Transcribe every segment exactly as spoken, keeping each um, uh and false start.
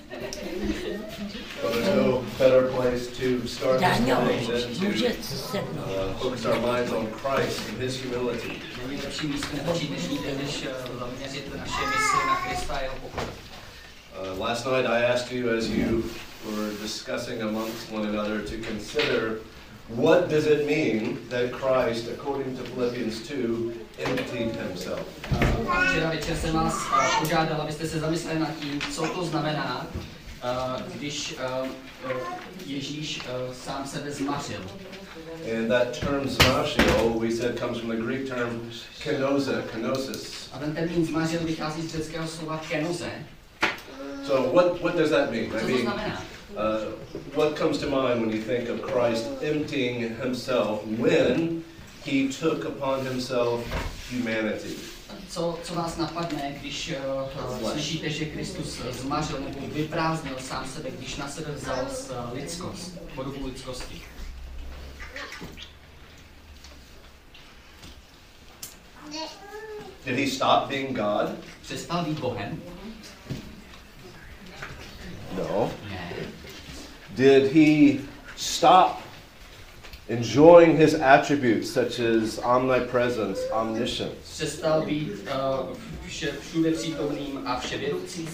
Well, there's no better place to start this morning than to uh, focus our minds on Christ and His humility. Není lepší místo začít dnešní den, než zaměřit naše mysli na Krista a jeho pokoru. Uh, last night I asked you, as you were discussing amongst one another, to consider what does it mean that Christ, according to Philippians two, emptied himself. Uh, včera večer jsem vás uh, požádal, abyste se zamysleli nad tím, co to znamená, uh, když uh, uh, Ježíš uh, sám sebe zmařil. And that term zmařil, we said, comes from the Greek term kenoze, kenosis. A ten termín zmařil vychází z řeckého slova kenoze. So what, what does that mean? Co I to mean, znamená? uh, what comes to mind when you think of Christ emptying himself when he took upon himself humanity? Co, co vás napadne, když uh, slyšíte, že Kristus zmařil nebo vyprázdnil sám sebe, když na sebe vzal uh, lidskost, podobu lidskosti? Did he stop being God? Přestal být Bohem? No. Ne. Did he stop enjoying his attributes such as omnipresence, omniscience? Přestal být uh, vše, všude přítomným a vševědoucím?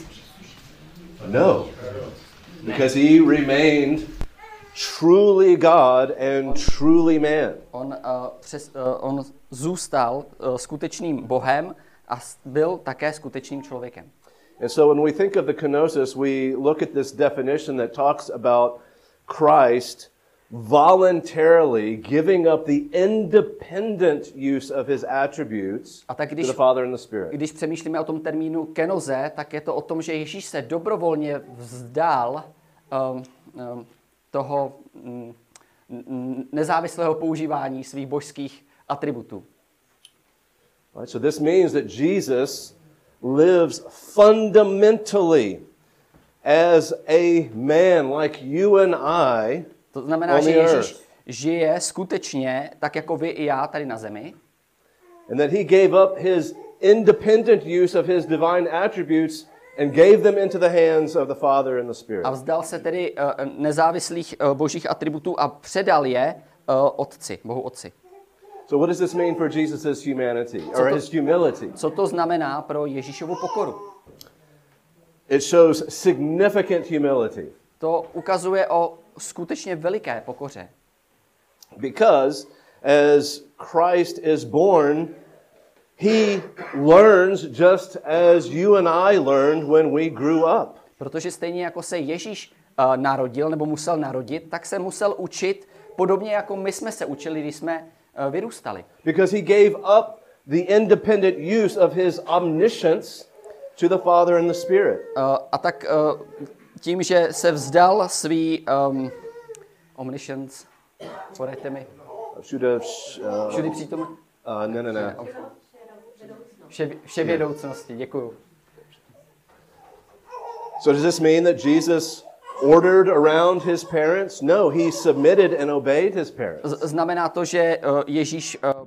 No. Because he remained truly God and truly man. On, uh, přes, uh, on zůstal uh, skutečným Bohem a byl také skutečným člověkem. And so when we think of the kenosis, we look at this definition that talks about Christ voluntarily giving up the independent use of his attributes a tak když, to the Father and the Spirit. Když přemýšlíme o tom termínu kenoze, tak je to o tom, že Ježíš se dobrovolně vzdal um, um, toho um, nezávislého používání svých božských atributů. Right, so this means that Jesus lives fundamentally as a man like you and I. To znamená, že Ježíš žije skutečně tak jako vy i já tady na zemi. And that he gave up his independent use of his divine attributes and gave them into the hands of the Father and the Spirit. A vzdal se tedy uh, nezávislých uh, božích atributů a předal je uh, Otci, Bohu Otci. So what does this mean for Jesus' humanity or to, his humility? Co to znamená pro Ježíšovu pokoru? It shows significant humility. To ukazuje o skutečně veliké pokoře. Because as Christ is born, he learns just as you and I learned when we grew up. Protože stejně jako se Ježíš uh, narodil nebo musel narodit, tak se musel učit podobně jako my jsme se učili, když jsme uh, vyrůstali. Because he gave up the independent use of his omniscience to the Father and the Spirit. Uh, a tak uh, tím, že se vzdal svý um, omniscience, poraďte mi. Všude, uh, Všudy přítomný? Uh, ne, ne, ne. Vše, vševědoucnosti, děkuju. So does this mean that Jesus ordered around his parents? No, he submitted and obeyed his parents. Z- znamená to, že uh, Ježíš uh, uh,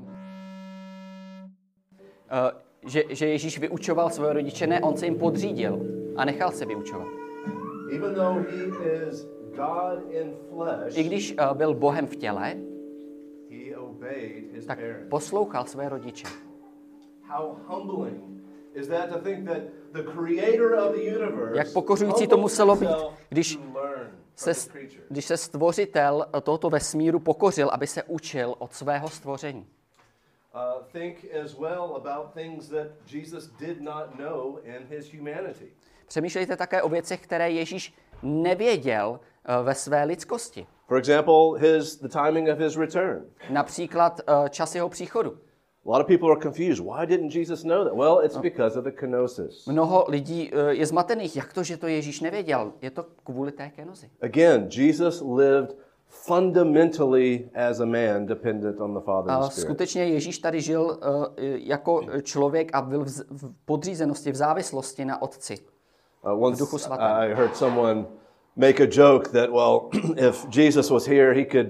že, že Ježíš vyučoval svoje rodiče? Ne, on se jim podřídil a nechal se vyučovat. Even though he is God in flesh, I když uh, byl Bohem v těle, he obeyed his tak parents. poslouchal své rodiče. How humbling is that to think that the creator of the universe, Jak pokořující to muselo být, když se, se, když se stvořitel tohoto vesmíru pokořil, aby se učil od svého stvoření. Uh, think as well about things that Jesus did not know in his humanity. Přemýšlejte také o věcech, které Ježíš nevěděl uh, ve své lidskosti. For example, his the timing of his return. Například uh, čas jeho příchodu. A lot of people are confused. Why didn't Jesus know that? Well, it's because of the kenosis. Mnoho lidí uh, je zmatených. Jak to, že to Ježíš nevěděl? Je to kvůli té kenozi. Again, Jesus lived fundamentally as a man, dependent on the Father and A the Spirit. skutečně Ježíš tady žil uh, jako člověk a byl v, z- v podřízenosti, v závislosti na Otci. Uh, once Duchu Svatém. I heard someone make a joke that, well, if Jesus was here, he could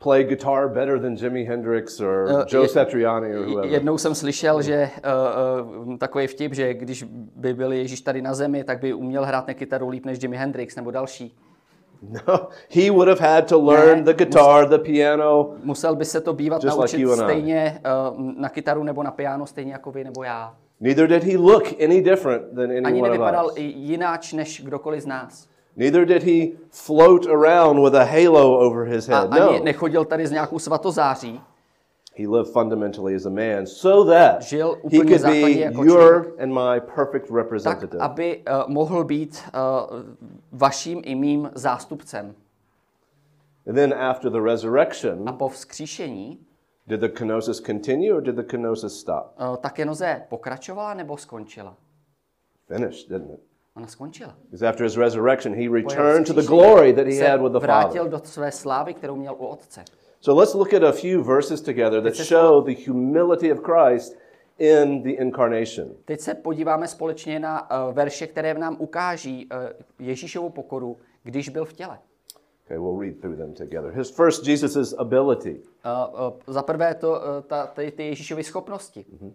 play guitar better than Jimi Hendrix or Uh, Joe je- Satriani or whoever. Jednou jsem slyšel, že uh, uh, takový vtip, že když by byl Ježíš tady na zemi, tak by uměl hrát na kytaru líp než Jimi Hendrix nebo další. No, he would have had to learn Ne, the guitar, the piano. Musel by se to bývat Just like naučit you and I. stejně uh, na kytaru nebo na piano, stejně jako vy nebo já. Neither did he look any different than any Ani one of nevypadal us. i jináč než kdokoliv z nás. Neither did he float around with a halo over his A head. ani No, nechodil tady s nějakou svatozáří. he lived fundamentally as a man so that Žil he úplně could základně be jako your člověk. and my perfect Tak, representative. aby uh, mohl být uh, vaším i mým zástupcem. And then after the resurrection, A po vzkříšení did the kenosis continue or did the kenosis stop? uh, ta kenoze pokračovala nebo skončila? Finished, didn't it? Ona skončila. Because after his resurrection, he Po jeho returned to the vzkříšení glory that he se had with the vrátil Father. do své slávy, kterou měl u Otce. So let's look at a few verses together that Teď se- show the humility of Christ in the incarnation. Teď se podíváme společně na uh, verše, které nám ukáží uh, Ježíšovu pokoru, když byl v těle. Okay, we'll read through them together. His first, Jesus' ability. Uh, uh, za prvé to, uh, ta, ty, ty Ježíšovy schopnosti. Mm-hmm.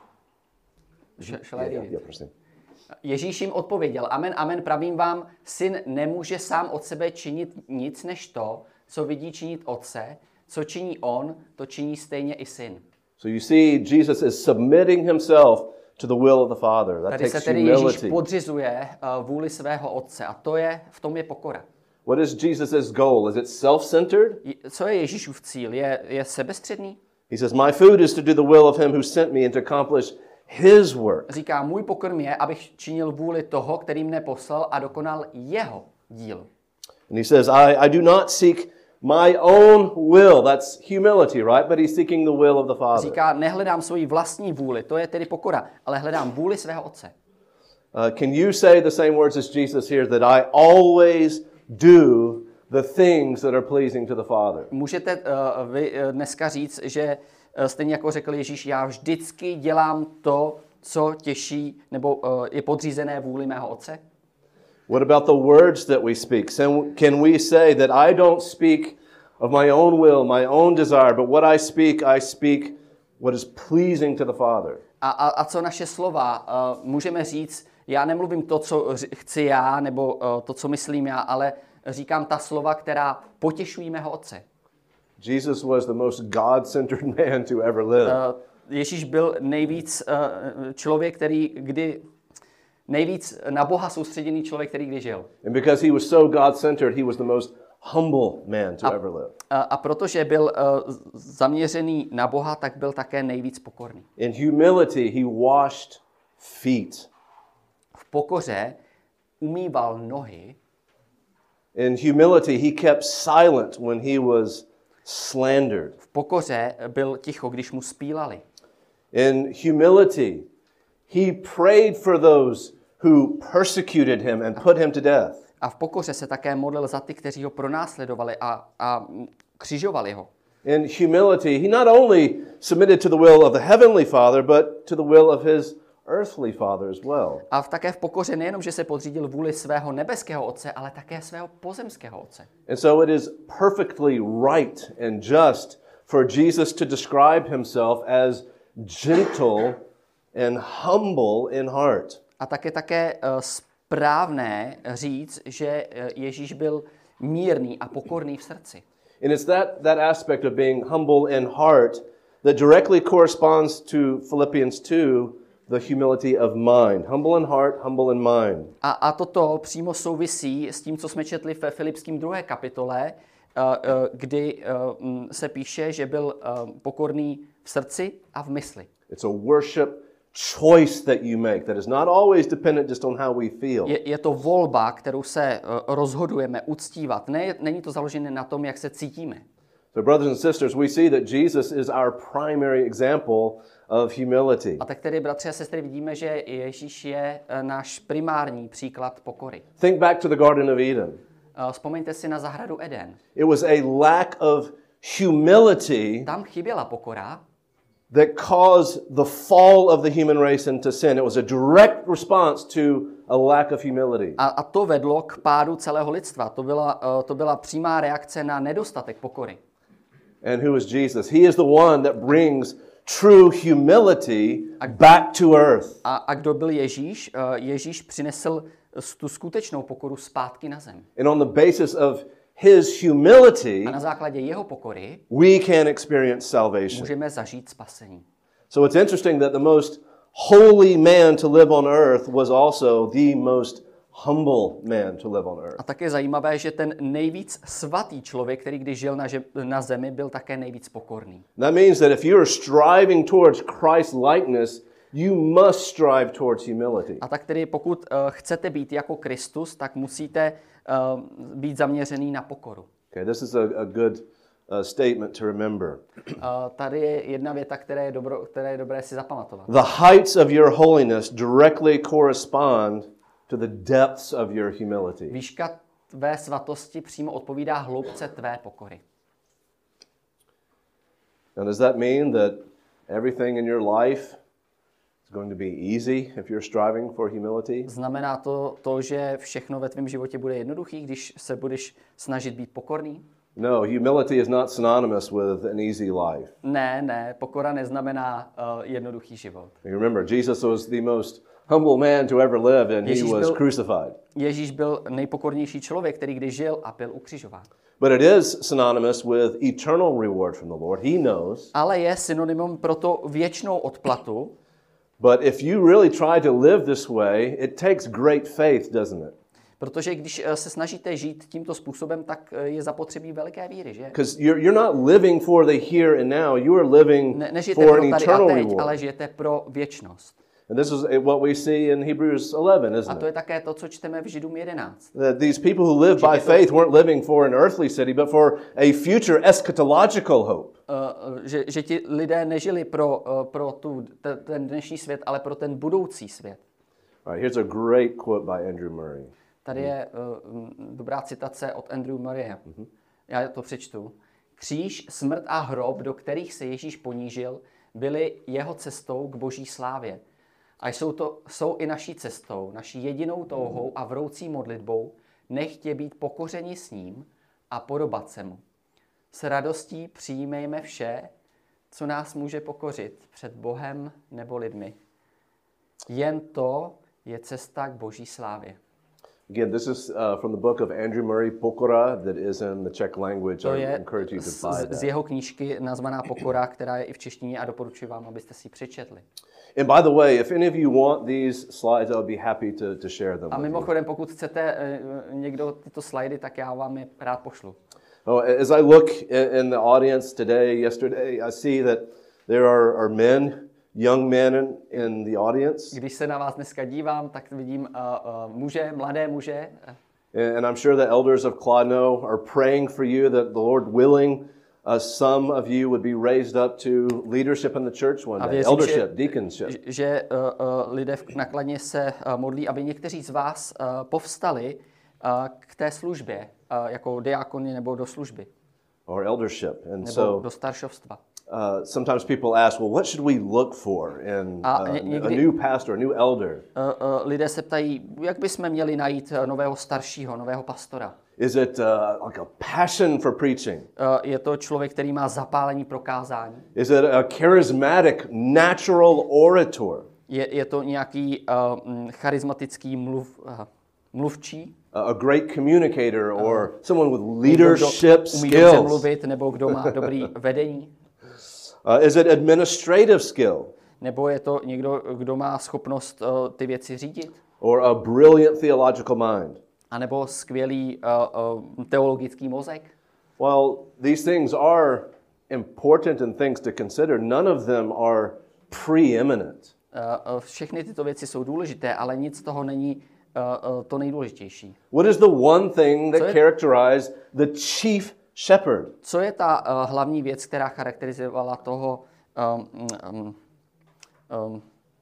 Yeah, yeah, yeah, prosím. Ježíš jim odpověděl, amen, amen, pravím vám, syn nemůže sám od sebe činit nic než to, co vidí činit otce, co činí on, to činí stejně i syn. So you see, Jesus is submitting himself to the will of the Father. That Tady se takes tedy Ježíš humility. podřizuje uh, vůli svého otce a to je, v tom je pokora. What is Jesus' goal? Is it self-centered? Je- Co je Ježíšův cíl? Je, je sebestředný? He says, my food is to do the will of him who sent me and to accomplish his work. Říká, můj pokrm je, abych činil vůli toho, který mne poslal a dokonal jeho díl. And he says, I, I do not seek my own will. That's humility, right? But he's seeking the will of the Father. Říká, nehledám svoji vlastní vůli, to je tedy pokora, ale hledám vůli svého otce. Uh, can you say the same words as Jesus here, that I always do the things that are pleasing to the Father? Můžete uh, vy uh, dneska říct, že uh, stejně jako řekl Ježíš, já vždycky dělám to, co těší, nebo uh, je podřízené vůli mého otce? What about the words that we speak? Can can we say that I don't speak of my own will, my own desire, but what I speak, I speak what is pleasing to the Father? A, a, a co naše slova? Uh, můžeme říct, já nemluvím to, co ř- chci já, nebo uh, to, co myslím já, ale říkám ta slova, která potěšují mého otce. Jesus was the most God-centered man to ever live. Uh, Ježíš byl nejvíc uh, člověk, který kdy nejvíc na Boha soustředěný člověk, který kdy žil. And because he was so God-centered, he was the most humble man to ever live. A, a protože byl uh, zaměřený na Boha, tak byl také nejvíc pokorný. In humility, he washed feet. V pokoře umýval nohy. In humility, he kept silent when he was slandered. V pokoře byl ticho, když mu spílali. In humility, he prayed for those who persecuted him and put him to death. A v pokoře se také modlil za ty, kteří ho pronásledovali a, a křižovali ho. In humility, he not only submitted to the will of the heavenly Father, but to the will of his earthly Father as well. A v také v pokoře nejenom, že se podřídil vůli svého nebeského otce, ale také svého pozemského otce. And so it is perfectly right and just for Jesus to describe himself as gentle and humble in heart. A také také uh, správné říct, že uh, Ježíš byl mírný a pokorný v srdci. And it's that, that aspect of being humble in heart that directly corresponds to Philippians two, the humility of mind. Humble in heart, humble in mind. A, a toto přímo souvisí s tím, co jsme četli ve Filipským druhé kapitole, uh, uh, kdy uh, m, se píše, že byl uh, pokorný v srdci a v mysli. It's a worship choice that you make that is not always dependent just on how we feel. Je, je to volba, kterou se uh, rozhodujeme uctívat. Ne, není to založené na tom, jak se cítíme. So brothers and sisters, we see that Jesus is our primary example of humility. A tak tedy, bratři a sestry, vidíme, že Ježíš je uh, náš primární příklad pokory. Think back to the Garden of Eden. Uh, vzpomeňte si na zahradu Eden. It was a lack of humility Tam chyběla pokora, that caused the fall of the human race into sin. It was a direct response to a lack of humility. a, a to vedlo k pádu celého lidstva. To byla, uh, to byla přímá reakce na nedostatek pokory. And who is Jesus? He is the one that brings true humility back to earth. A, a kdo byl Ježíš? Uh, Ježíš přinesl tu skutečnou pokoru zpátky na zem. And on the basis of his humility, A na základě jeho pokory we can experience salvation. můžeme zažít spasení. So it's interesting that the most holy man to live on earth was also the most humble man to live on earth. A tak je zajímavé, že ten nejvíc svatý člověk, který když žil na, že, na zemi, byl také nejvíc pokorný. That means that if you are striving towards Christ likeness, you must strive towards humility. A tak tedy pokud uh, chcete být jako Kristus, tak musíte uh, být zaměřený na pokoru. Okay, this is a, a good uh, statement to remember. Uh, tady je jedna věta, která je, dobro, která je dobré si zapamatovat. The heights of your holiness directly correspond to the depths of your humility. Výška tvé svatosti přímo odpovídá hloubce tvé pokory. Now, does that mean that everything in your life is going to be easy if you're striving for humility? Znamená to to, že všechno ve tvém životě bude jednoduchý, když se budeš snažit být pokorný? No, humility is not synonymous with an easy life. Ne, ne, pokora neznamená uh, jednoduchý život. Remember, Jesus was the most humble man to ever live, and he Ježíš was byl- crucified. Ježíš byl nejpokornější člověk, který kdy žil a byl ukřižován. But it is synonymous with eternal reward from the Lord. He knows. Ale je synonymem pro to věčnou odplatu. But if you really try to live this way, it takes great faith, doesn't it? Protože když eh, se snažíte žít tímto způsobem, tak eh, je zapotřebí veliké víry, že? Because you're, you're not living for the here and now. You are living Ne, nežijete for pro an tady a eternal teď, reward. ale žijete pro věčnost. And this is what we see in Hebrews eleven, A isn't to je it? také to, co čteme v Židům jedenáct. That these people who live by faith weren't living for an earthly city, but for a future eschatological hope. Uh, že, že ti lidé nežili pro, uh, pro tu, te, ten dnešní svět, ale pro ten budoucí svět. All right, here's a great quote by Andrew Murray. Tady je uh, dobrá citace od Andrew Murraye. Já to přečtu. Kříž, smrt a hrob, do kterých se Ježíš ponížil, byly jeho cestou k boží slávě. A jsou, to, jsou i naší cestou, naší jedinou touhou a vroucí modlitbou, nechtě být pokořeni s ním a podobat se mu. S radostí přijmejme vše, co nás může pokořit před Bohem nebo lidmi. Jen to je cesta k boží slávě. Again, this is uh, from the book of Andrew Murray, Pokora, that is in the Czech language. To I je encourage you to z, buy z that. jeho knížky nazvaná Pokora, která je i v češtině a doporučuji vám, abyste si ji přečetli. And by the way, if any of you want these slides, I'll be happy to, to share them A with you. mimochodem, pokud chcete uh, někdo tyto slajdy, tak já vám je rád pošlu. Oh, as I look i- in the audience today, yesterday, I see that there are, are men, young men in, in the audience. Když se na vás dneska dívám, tak vidím uh, uh, muže, mladé muže. And I'm sure the elders of Clodno are praying for you that the Lord willing, uh, some of you would be raised up to leadership in the church one A day, věřím, eldership, že, deaconship. že- že uh, uh, lidé v nakladně se uh, modlí, aby někteří z vás uh, povstali uh, k té službě, uh, jako diákoni nebo do služby, Or eldership. And nebo so do staršovstva. uh, sometimes people ask, well, what should we look for in A uh, ně- a někdy- new pastor, a new elder? Uh, uh, lidé se ptají, jak bychom měli najít uh, nového staršího, nového pastora. Is it uh, like a passion for preaching? Uh, je to člověk, který má zapálení pro kázání? Is it a charismatic, natural orator? Je, je to nějaký uh, mm, charismatický mluv, uh, mluvčí? A a great communicator or someone with Někdo, kdo leadership umí dobře skills? mluvit, nebo kdo má dobrý vedení? Uh, is it administrative skill Nebo je to někdo, kdo má schopnost uh, ty věci řídit? or a brilliant theological mind? A nebo skvělý uh, uh, teologický mozek? Well, these things are important and things to consider. None of them are preeminent. Uh, uh, všechny tyto věci jsou důležité, ale nic z toho není uh, uh, to nejdůležitější. What is the one thing Co that je- characterized the chief shepherd? Co je ta uh, hlavní věc, která charakterizovala toho um, um, um,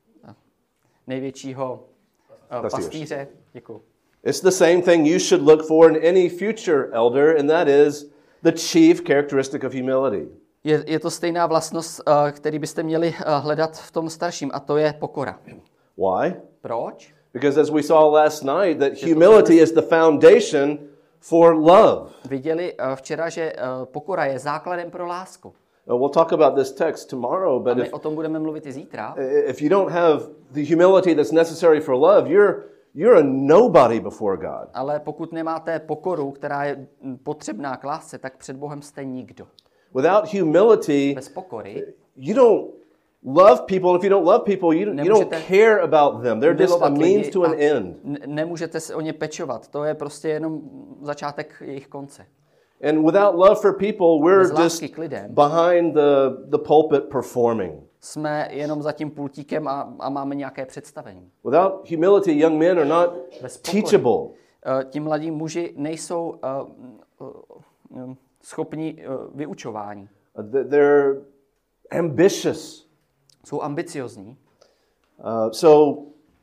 největšího uh, Pastýř. pastýře? Děkuji. It's the same thing you should look for in any future elder, and that is the chief characteristic of humility. Je, je to stejná vlastnost, uh, který byste měli uh, hledat v tom starším, a to je pokora. Why? Proč? Because as we saw last night, that humility is the foundation for love. Viděli uh, včera, že uh, pokora je základem pro lásku. Uh, we'll talk about this text tomorrow, A but my if, o tom budeme mluvit i zítra. if you don't have the humility that's necessary for love, you're you're a nobody before God. Ale pokud nemáte pokoru, která je potřebná k lásce, tak před Bohem jste nikdo. Without humility, Bez pokory you don't love people. If you don't love people, you, you don't care about them. They're just a milovat means lidi to an a end. n- nemůžete se o ně pečovat. To je prostě jenom začátek jejich konce. And without love for people, we're Bez just lásky k lidem behind the, the pulpit performing. jsme jenom za tím pultíkem a, a máme nějaké představení. Without humility, young men are not Bez pokory. teachable. Uh, ti mladí muži nejsou uh, uh, uh, schopni uh, vyučování. Uh, th- They're ambitious. Jsou ambiciozní. Uh, so,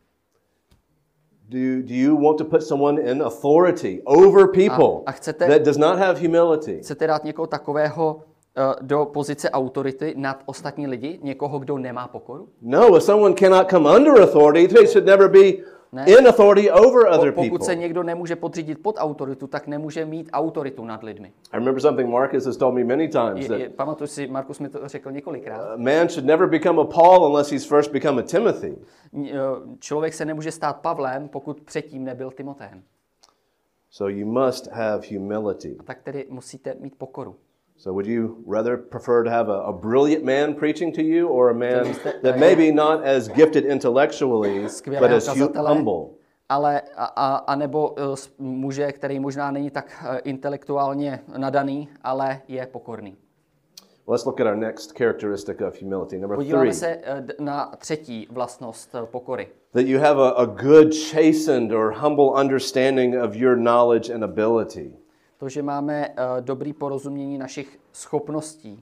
do you, do you want to put someone in authority over people A- a chcete- that does not have humility? Chcete dát někoho takového uh, do pozice autority nad ostatní lidi? Někoho, kdo nemá pokoru? No, if someone cannot come under authority, they should never be Ne. in authority over Po, other pokud people. se někdo nemůže podřídit pod autoritu, tak nemůže mít autoritu nad lidmi. I remember something Marcus has told me many times, Je, je, that pamatuju si, Markus mi to řekl několikrát. a man should never become a Paul unless he's first become a Timothy. N- uh, Člověk se nemůže stát Pavlem, pokud předtím nebyl Timoteem. So you must have humility. Tak tedy musíte mít pokoru. So would you rather prefer to have a, a brilliant man preaching to you or a man byste- that maybe not as gifted intellectually, but Skvělého as hu- kazatele, humble? ale a, a, a nebo uh, s- muže, který možná není tak uh, intelektuálně nadaný, ale je pokorný. Let's look at our next characteristic of humility. Number three, Podíváme se uh, d- na třetí vlastnost uh, pokory. that you have a, a good, chastened, or humble understanding of your knowledge and ability. To, že máme uh, dobrý porozumění našich schopností.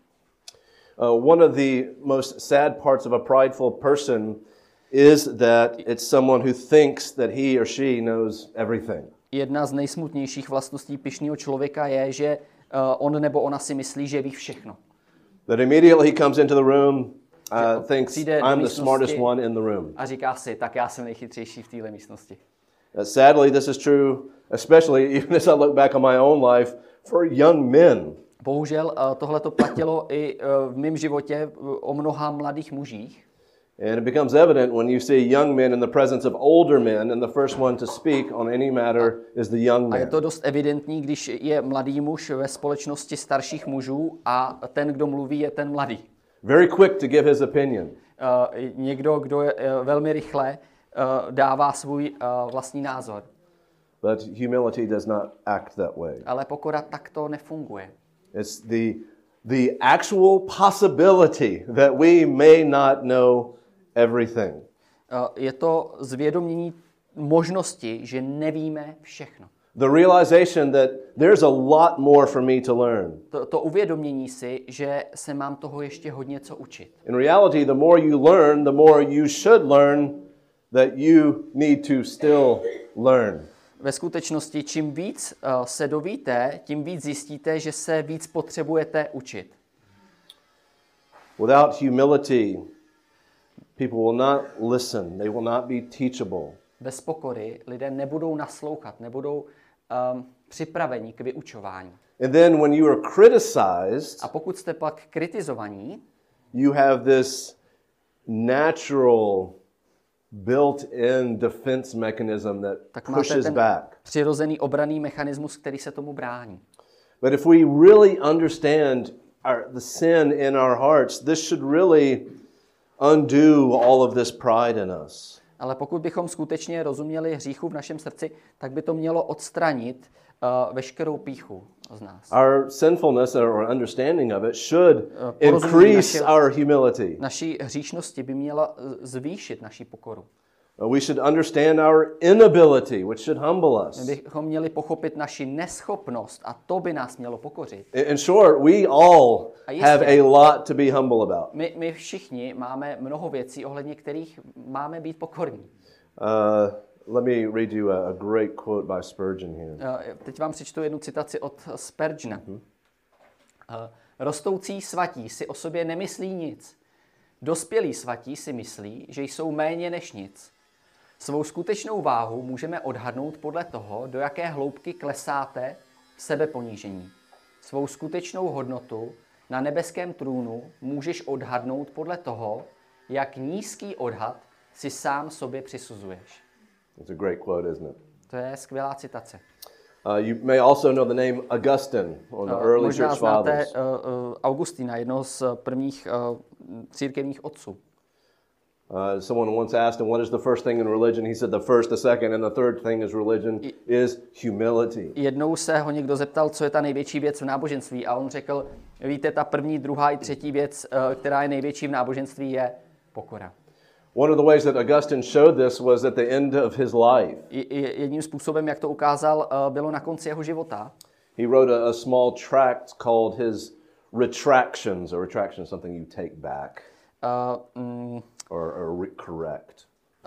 Uh, one of the most sad parts of a prideful person is that it's someone who thinks that he or she knows everything. Jedna z nejsmutnějších vlastností pyšného člověka je, že uh, on nebo ona si myslí, že ví všechno. That immediately he comes into the room, uh, thinks přijde do I'm the místnosti smartest one in the room. a říká si, tak já jsem nejchytřejší v téhle místnosti. Uh, sadly, this is true, especially even as I look back on my own life, for young men. Bohužel uh, tohle to platilo i uh, v mém životě uh, o mnoha mladých mužích. And it becomes evident when you see young men in the presence of older men, and the first one to speak on any matter is the young A je man. to dost evidentní, když je mladý muž ve společnosti starších mužů a ten, kdo mluví, je ten mladý. Very quick to give his opinion. Uh, někdo, kdo je uh, velmi rychle uh, dává svůj uh, vlastní názor. But humility does not act that way. Ale pokora takto nefunguje. It's the, the actual possibility that we may not know everything. Uh, je to zvědomění možnosti, že nevíme všechno. The realization that there's a lot more for me to learn. To, to uvědomění si, že se mám toho ještě hodně co učit. In reality, the more you learn, the more you should learn that you need to still learn. Ve skutečnosti, čím víc uh, se dovíte, tím víc zjistíte, že se víc potřebujete učit. Without humility, people will not listen. They will not be teachable. Bez pokory lidé nebudou naslouchat, nebudou um, připraveni k vyučování. And then when you are criticized, A pokud jste pak kritizovaní, you have this natural built-in defense mechanism that tak máte pushes ten back. přirozený obranný mechanismus, který se tomu brání. But if we really understand our, the sin in our hearts, this should really undo all of this pride in us. Ale pokud bychom skutečně rozuměli hříchu v našem srdci, tak by to mělo odstranit uh, veškerou pýchu z nás. Our sinfulness or understanding of it should porozumění increase našeho- our humility. Naší hříšnosti by měla uh, zvýšit naši pokoru. We should understand our inability, which should humble My us. bychom měli pochopit naši neschopnost a to by nás mělo pokořit. In short, we all A jistě. have a lot to be humble about. My, my všichni máme mnoho věcí, ohledně kterých máme být pokorní. Uh, let me read you a, a great quote by Spurgeon here. Uh, teď vám přečtu jednu citaci od Spurgeona. Uh, Rostoucí svatí si o sobě nemyslí nic. Dospělí svatí si myslí, že jsou méně než nic. Svou skutečnou váhu můžeme odhadnout podle toho, do jaké hloubky klesáte v sebeponížení. Svou skutečnou hodnotu na nebeském trůnu můžeš odhadnout podle toho, jak nízký odhad si sám sobě přisuzuješ. It's a great quote, isn't it? To je skvělá citace. Uh, you may also know the name Augustine, or the Uh, early možná church znáte fathers. uh, uh, Augustina, jednoho z uh, prvních uh, církevních otců. Uh, someone once asked him, what is the first thing in religion? He said the first, the second, and the third thing is religion is humility. Jednou se ho někdo zeptal, co je ta největší věc v náboženství, a on řekl, víte, ta první, druhá i třetí věc, uh, která je největší v náboženství, je pokora. One of the ways that Augustine showed this was at the end of his life. Jedním způsobem, jak to ukázal, bylo na konci jeho života. He wrote a, a small tract called his Retractions, or retraction is something you take back, Uh, mm, or, or re- correct.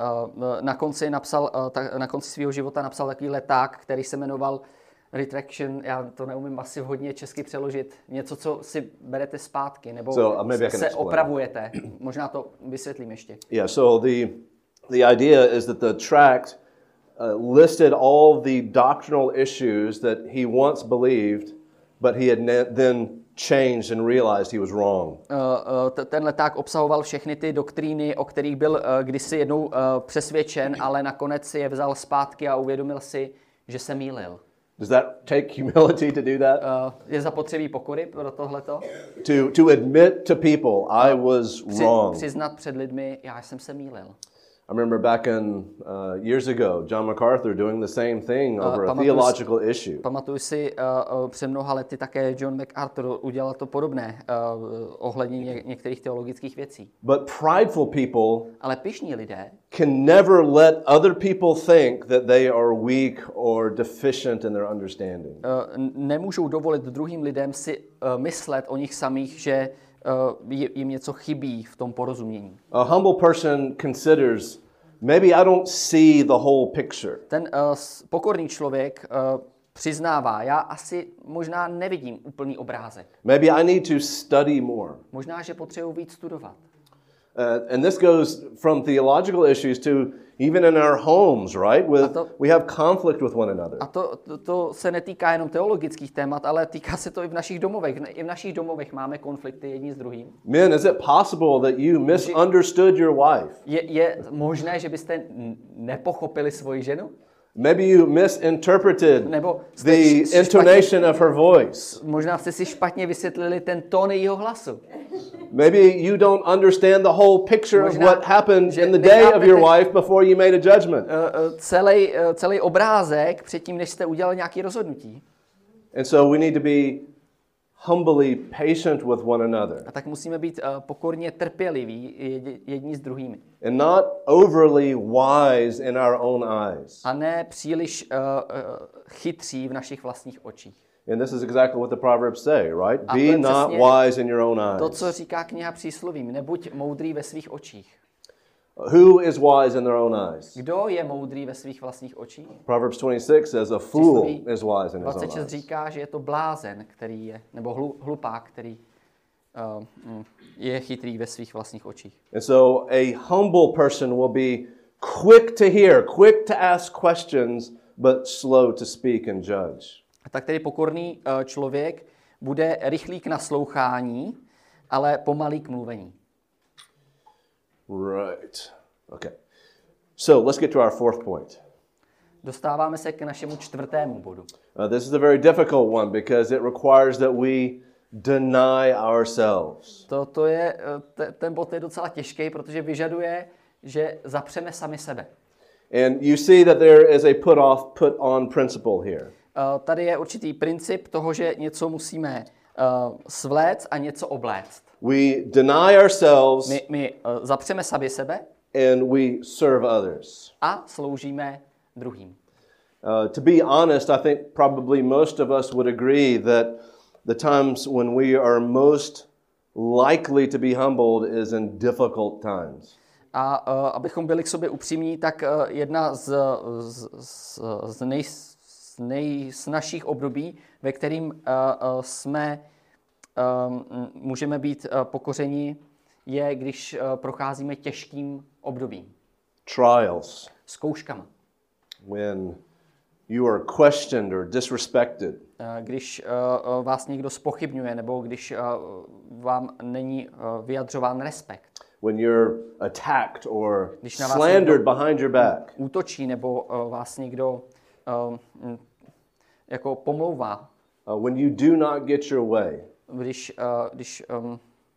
uh, na konci napsal, uh, ta, na konci svého života napsal takový leták, který se jmenoval Retraction. Já to neumím asi hodně česky přeložit. Něco, co si berete zpátky, nebo So, uh, maybe I se, can se explain. opravujete. Možná to vysvětlím ještě. Yeah, so the, the idea is that the tract uh, listed all the doctrinal issues that he once believed, but he had ne- then changed and realized he was wrong. Uh, uh, ten leták obsahoval všechny ty doktríny, o kterých byl uh, kdysi jednou uh, přesvědčen, ale nakonec si je vzal zpátky a uvědomil si, že se mýlil. Does that take humility to do that? Uh, je zapotřebí pokory pro tohleto? To, to admit to people I was Při, wrong. přiznat před lidmi, já jsem se mýlil. I remember back in uh, years ago, John MacArthur doing the same thing over a pamatuju si- theological issue. Pamatuju si, uh, uh, před mnoha lety také John MacArthur udělal to podobné uh, ohledně ně, některých teologických věcí. But prideful people Ale pyšní lidé can never let other people think that they are weak or deficient in their understanding. uh, n- nemůžou dovolit druhým lidem si uh, myslet o nich samých, že uh, jim něco chybí v tom porozumění. A humble person considers, maybe I don't see the whole picture. Ten uh, s- pokorný člověk uh, přiznává, já asi možná nevidím úplný obrázek. Maybe I need to study more. Možná, že potřebuji víc studovat. Uh, and this goes from theological issues to even in our homes, right? With, to- we have conflict with one another. A to, to, to se netýká jenom teologických témat, ale týká se to i v našich domovech. I v našich domovech máme konflikty jedni s druhým. Men, is it possible that you misunderstood your wife? Je, je možné, že byste n- nepochopili svoji ženu? Maybe you misinterpreted Nebo jste the š- intonation of her voice. Možná jste si špatně vysvětlili ten tón jejího hlasu. Maybe you don't understand the whole picture of Možná, what happened že in the day of your nechápete- wife before you made a judgment. Uh, uh, celý, uh, celý obrázek předtím, než jste udělali nějaké rozhodnutí. And so we need to be humbly patient with one another A tak musíme být uh, pokorně trpěliví jedni, jedni s druhými. and not overly wise in our own eyes. A ne příliš uh, uh, chytří v našich vlastních očích. And this is exactly what the Proverbs say, right? A to Be je not přesně wise in your own To, eyes. co říká kniha Příslovím, nebuď moudrý ve svých očích. Who is wise in their own eyes? Kdo je moudrý ve svých vlastních očích? Proverbs twenty-six says a fool is wise in his own dvacet šest eyes. říká, že je to blázen, který je, nebo hlu, hlupák, který uh, mm, je chytrý ve svých vlastních očích. And so a humble person will be quick to hear, quick to ask questions, but slow to speak and judge. A tak tedy pokorný uh, člověk bude rychlý k naslouchání, ale pomalý k mluvení. Right. Okay. So let's get to our fourth point. Dostáváme se k našemu čtvrtému bodu. Uh, this is a very difficult one because it requires that we deny ourselves. To, to je, uh, te, ten bod je docela těžký, protože vyžaduje, že zapřeme sami sebe. And you see that there is a put off, put on principle here. Uh, tady je určitý princip toho, že něco musíme uh, svléct a něco obléct. We deny ourselves My, my uh, zapřeme sami sebe and we serve others. a sloužíme druhým. Uh, to be honest, I think probably most of us would agree that the times when we are most likely to be humbled is in difficult times. A uh, abychom byli k sobě upřímní, tak uh, jedna z, z, z, z, nej, z nejsnažších období, ve kterým uh, uh, jsme um, můžeme být uh, pokořeni, je, když uh, procházíme těžkým obdobím. Trials. zkouškama. When you are questioned or disrespected. Uh, když uh, vás někdo zpochybňuje, nebo když uh, vám není uh, vyjadřován respekt. When you're attacked or Když na vás slandered někdo behind your back. útočí, nebo uh, vás někdo uh, m, jako pomlouvá. Uh, when you do not get your way. Když, uh, když um,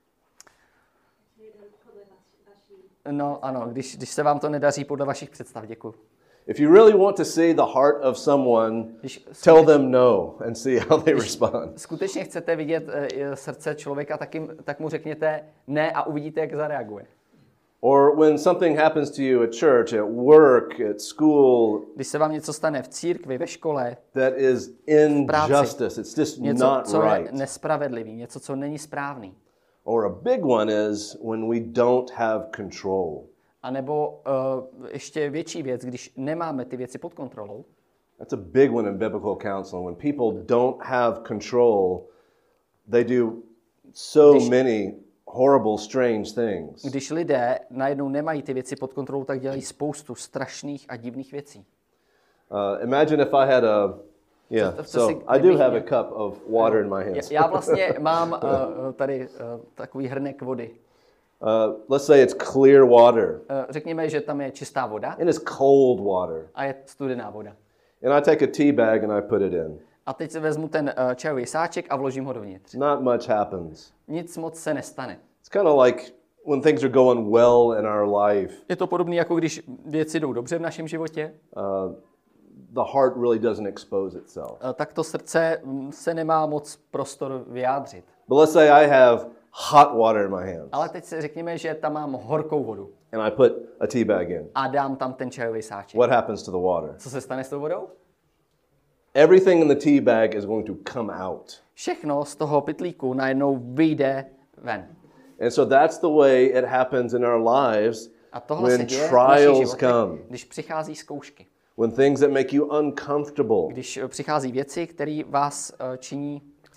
no ano, když, když se vám to nedaří podle vašich představ, děkuji. If you really want to see the heart of someone, Když tell them no and see how they respond. skutečně chcete vidět uh, srdce člověka, tak, jim, tak mu řekněte ne a uvidíte, jak zareaguje. Or when something happens to you at church, at work, at school, Když se vám něco stane v církvi, ve škole, that is injustice. It's just něco, not co je right. nespravedlivý, něco, co není správný. Or a big one is when we don't have control. A nebo uh, ještě větší věc, když nemáme ty věci pod kontrolou. That's a big one in biblical counseling. When people don't have control, they do so Když- many horrible, strange things. Když lidé najednou nemají ty věci pod kontrolou, tak dělají spoustu strašných a divných věcí. Uh, imagine if I had a, yeah, To- to so si- I do kdybych have a měl- cup of water in my Já, hands. já vlastně mám uh, tady uh, takový hrnek vody. Uh, let's say it's clear water Uh, řekněme, že tam je čistá voda and it's cold water. a je studená voda. And I take a tea bag and I put it in. A teď si vezmu ten uh, čajový sáček a vložím ho dovnitř. Not much happens. Nic moc se nestane. It's kind of like when things are going well in our life, Je to podobné, jako když věci jdou dobře v našem životě, uh, the heart really doesn't expose itself. uh, tak to srdce mm, se nemá moc prostor vyjádřit. But let's say I have hot water in my hands Ale teď si řekněme, že tam mám horkou vodu and I put a tea bag in. a dám tam ten čajový sáček. What happens to the water? Co se stane s tou vodou? Everything in the tea bag is going to come out. Všechno z toho pytlíku najednou vyjde ven. And so that's the way it happens in our lives A tohle se when děje v našich trials životech, come, když přichází zkoušky. when things that make you uncomfortable, Když eh, přichází věci, které vás eh, činí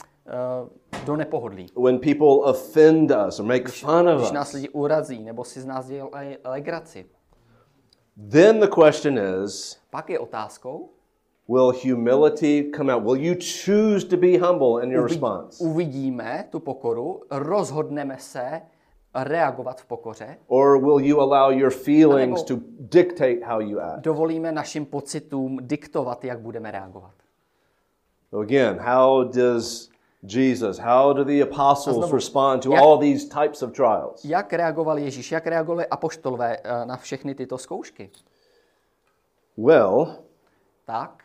eh, do nepohodlí. when people offend us or make fun of Když nás us. lidi urazí nebo si z nás dělají legraci. Then the question is, Pak je otázkou, will humility come out? Will you choose to be humble in your uvidí, response? uvidíme tu pokoru, rozhodneme se reagovat v pokoře, Or will you allow your feelings Anebo- to dictate how you act? dovolíme našim pocitům diktovat, jak budeme reagovat. So again, how does Jesus, how do the apostles znovu, respond to jak- all these types of trials? Jak reagoval Ježíš, jak reagovali apoštolové eh, na všechny tyto zkoušky? Well, Tak,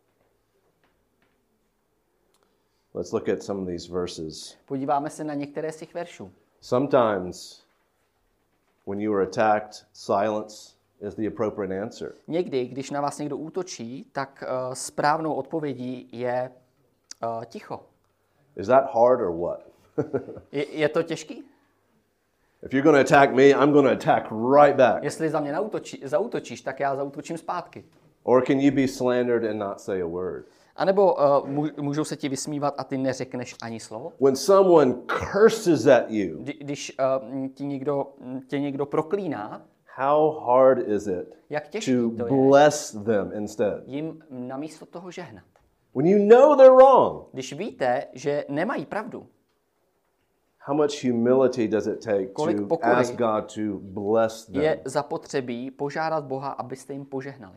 let's look at some of these verses. podíváme se na některé z těch veršů. Sometimes when you are attacked, silence is the appropriate answer. Někdy, když na vás někdo útočí, tak uh, správnou odpovědí je uh, ticho. Is that hard or what? Je, je to těžký? If you're going to attack me, I'm going to attack right back. Jestli za mě nautočí, zautočíš, tak já zautočím zpátky. Or can you be slandered and not say a word? A nebo uh, můžou se ti vysmívat a ty neřekneš ani slovo? When someone curses at you, Kdy, když uh, ti někdo, tě někdo proklíná, how hard is it jak těžký to to je bless them instead? jim namísto toho žehnat. When you know they're wrong, Když víte, že nemají pravdu, how much humility does it take Kolik to pokory ask God to bless them? je zapotřebí požádat Boha, abyste jim požehnali.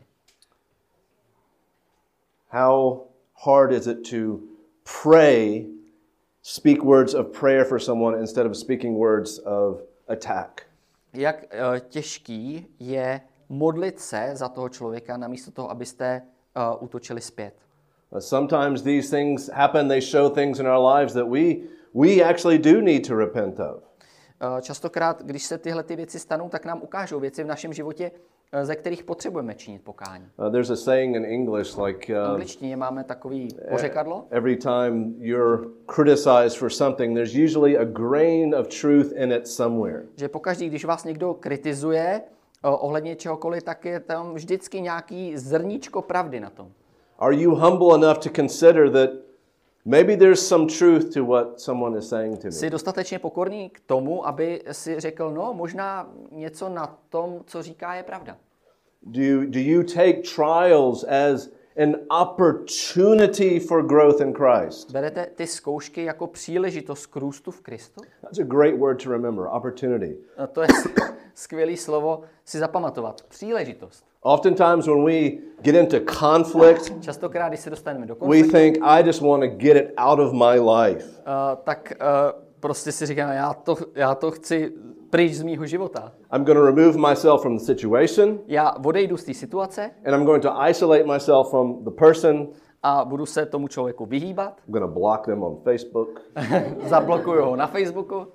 How hard is it to pray, speak words of prayer for someone instead of speaking words of attack? Jak uh, těžký je modlit se za toho člověka, namísto toho, abyste uh, útočili zpět. Uh, Sometimes these things happen, they show things in our lives that we, we actually do need to repent of. Uh, častokrát, když se tyhle ty věci stanou, tak nám ukážou věci v našem životě, uh, ze kterých potřebujeme činit pokání. Uh, there's a saying in English like V uh, angličtině máme takový pořekadlo, every time you're criticized for something, there's usually a grain of truth in it somewhere. že pokaždý, když vás někdo kritizuje uh, ohledně čehokoliv, tak je tam vždycky nějaký zrníčko pravdy na tom. Are you humble enough to consider that maybe there's some truth to what someone is saying to me? Jsi dostatečně pokorný k tomu, aby si řekl, no možná něco na tom, co říká, je pravda. Do you, do you take trials as an opportunity for growth in Christ? Berete ty zkoušky jako příležitost k růstu v Kristu? That's a great word to remember, opportunity. A to je skvělé slovo si zapamatovat. Příležitost. Oftentimes when we get into conflict, Častokrát, když se dostaneme do we konfliktu, think, I just want to get it out of my life. uh, tak uh, prostě si říkáme, já to, já to chci pryč z mýho života. I'm going to remove myself from the situation, Já odejdu z té situace and I'm going to isolate myself from the person. a budu se tomu člověku vyhýbat. I'm going to block them on Facebook. Zablokuju ho na Facebooku.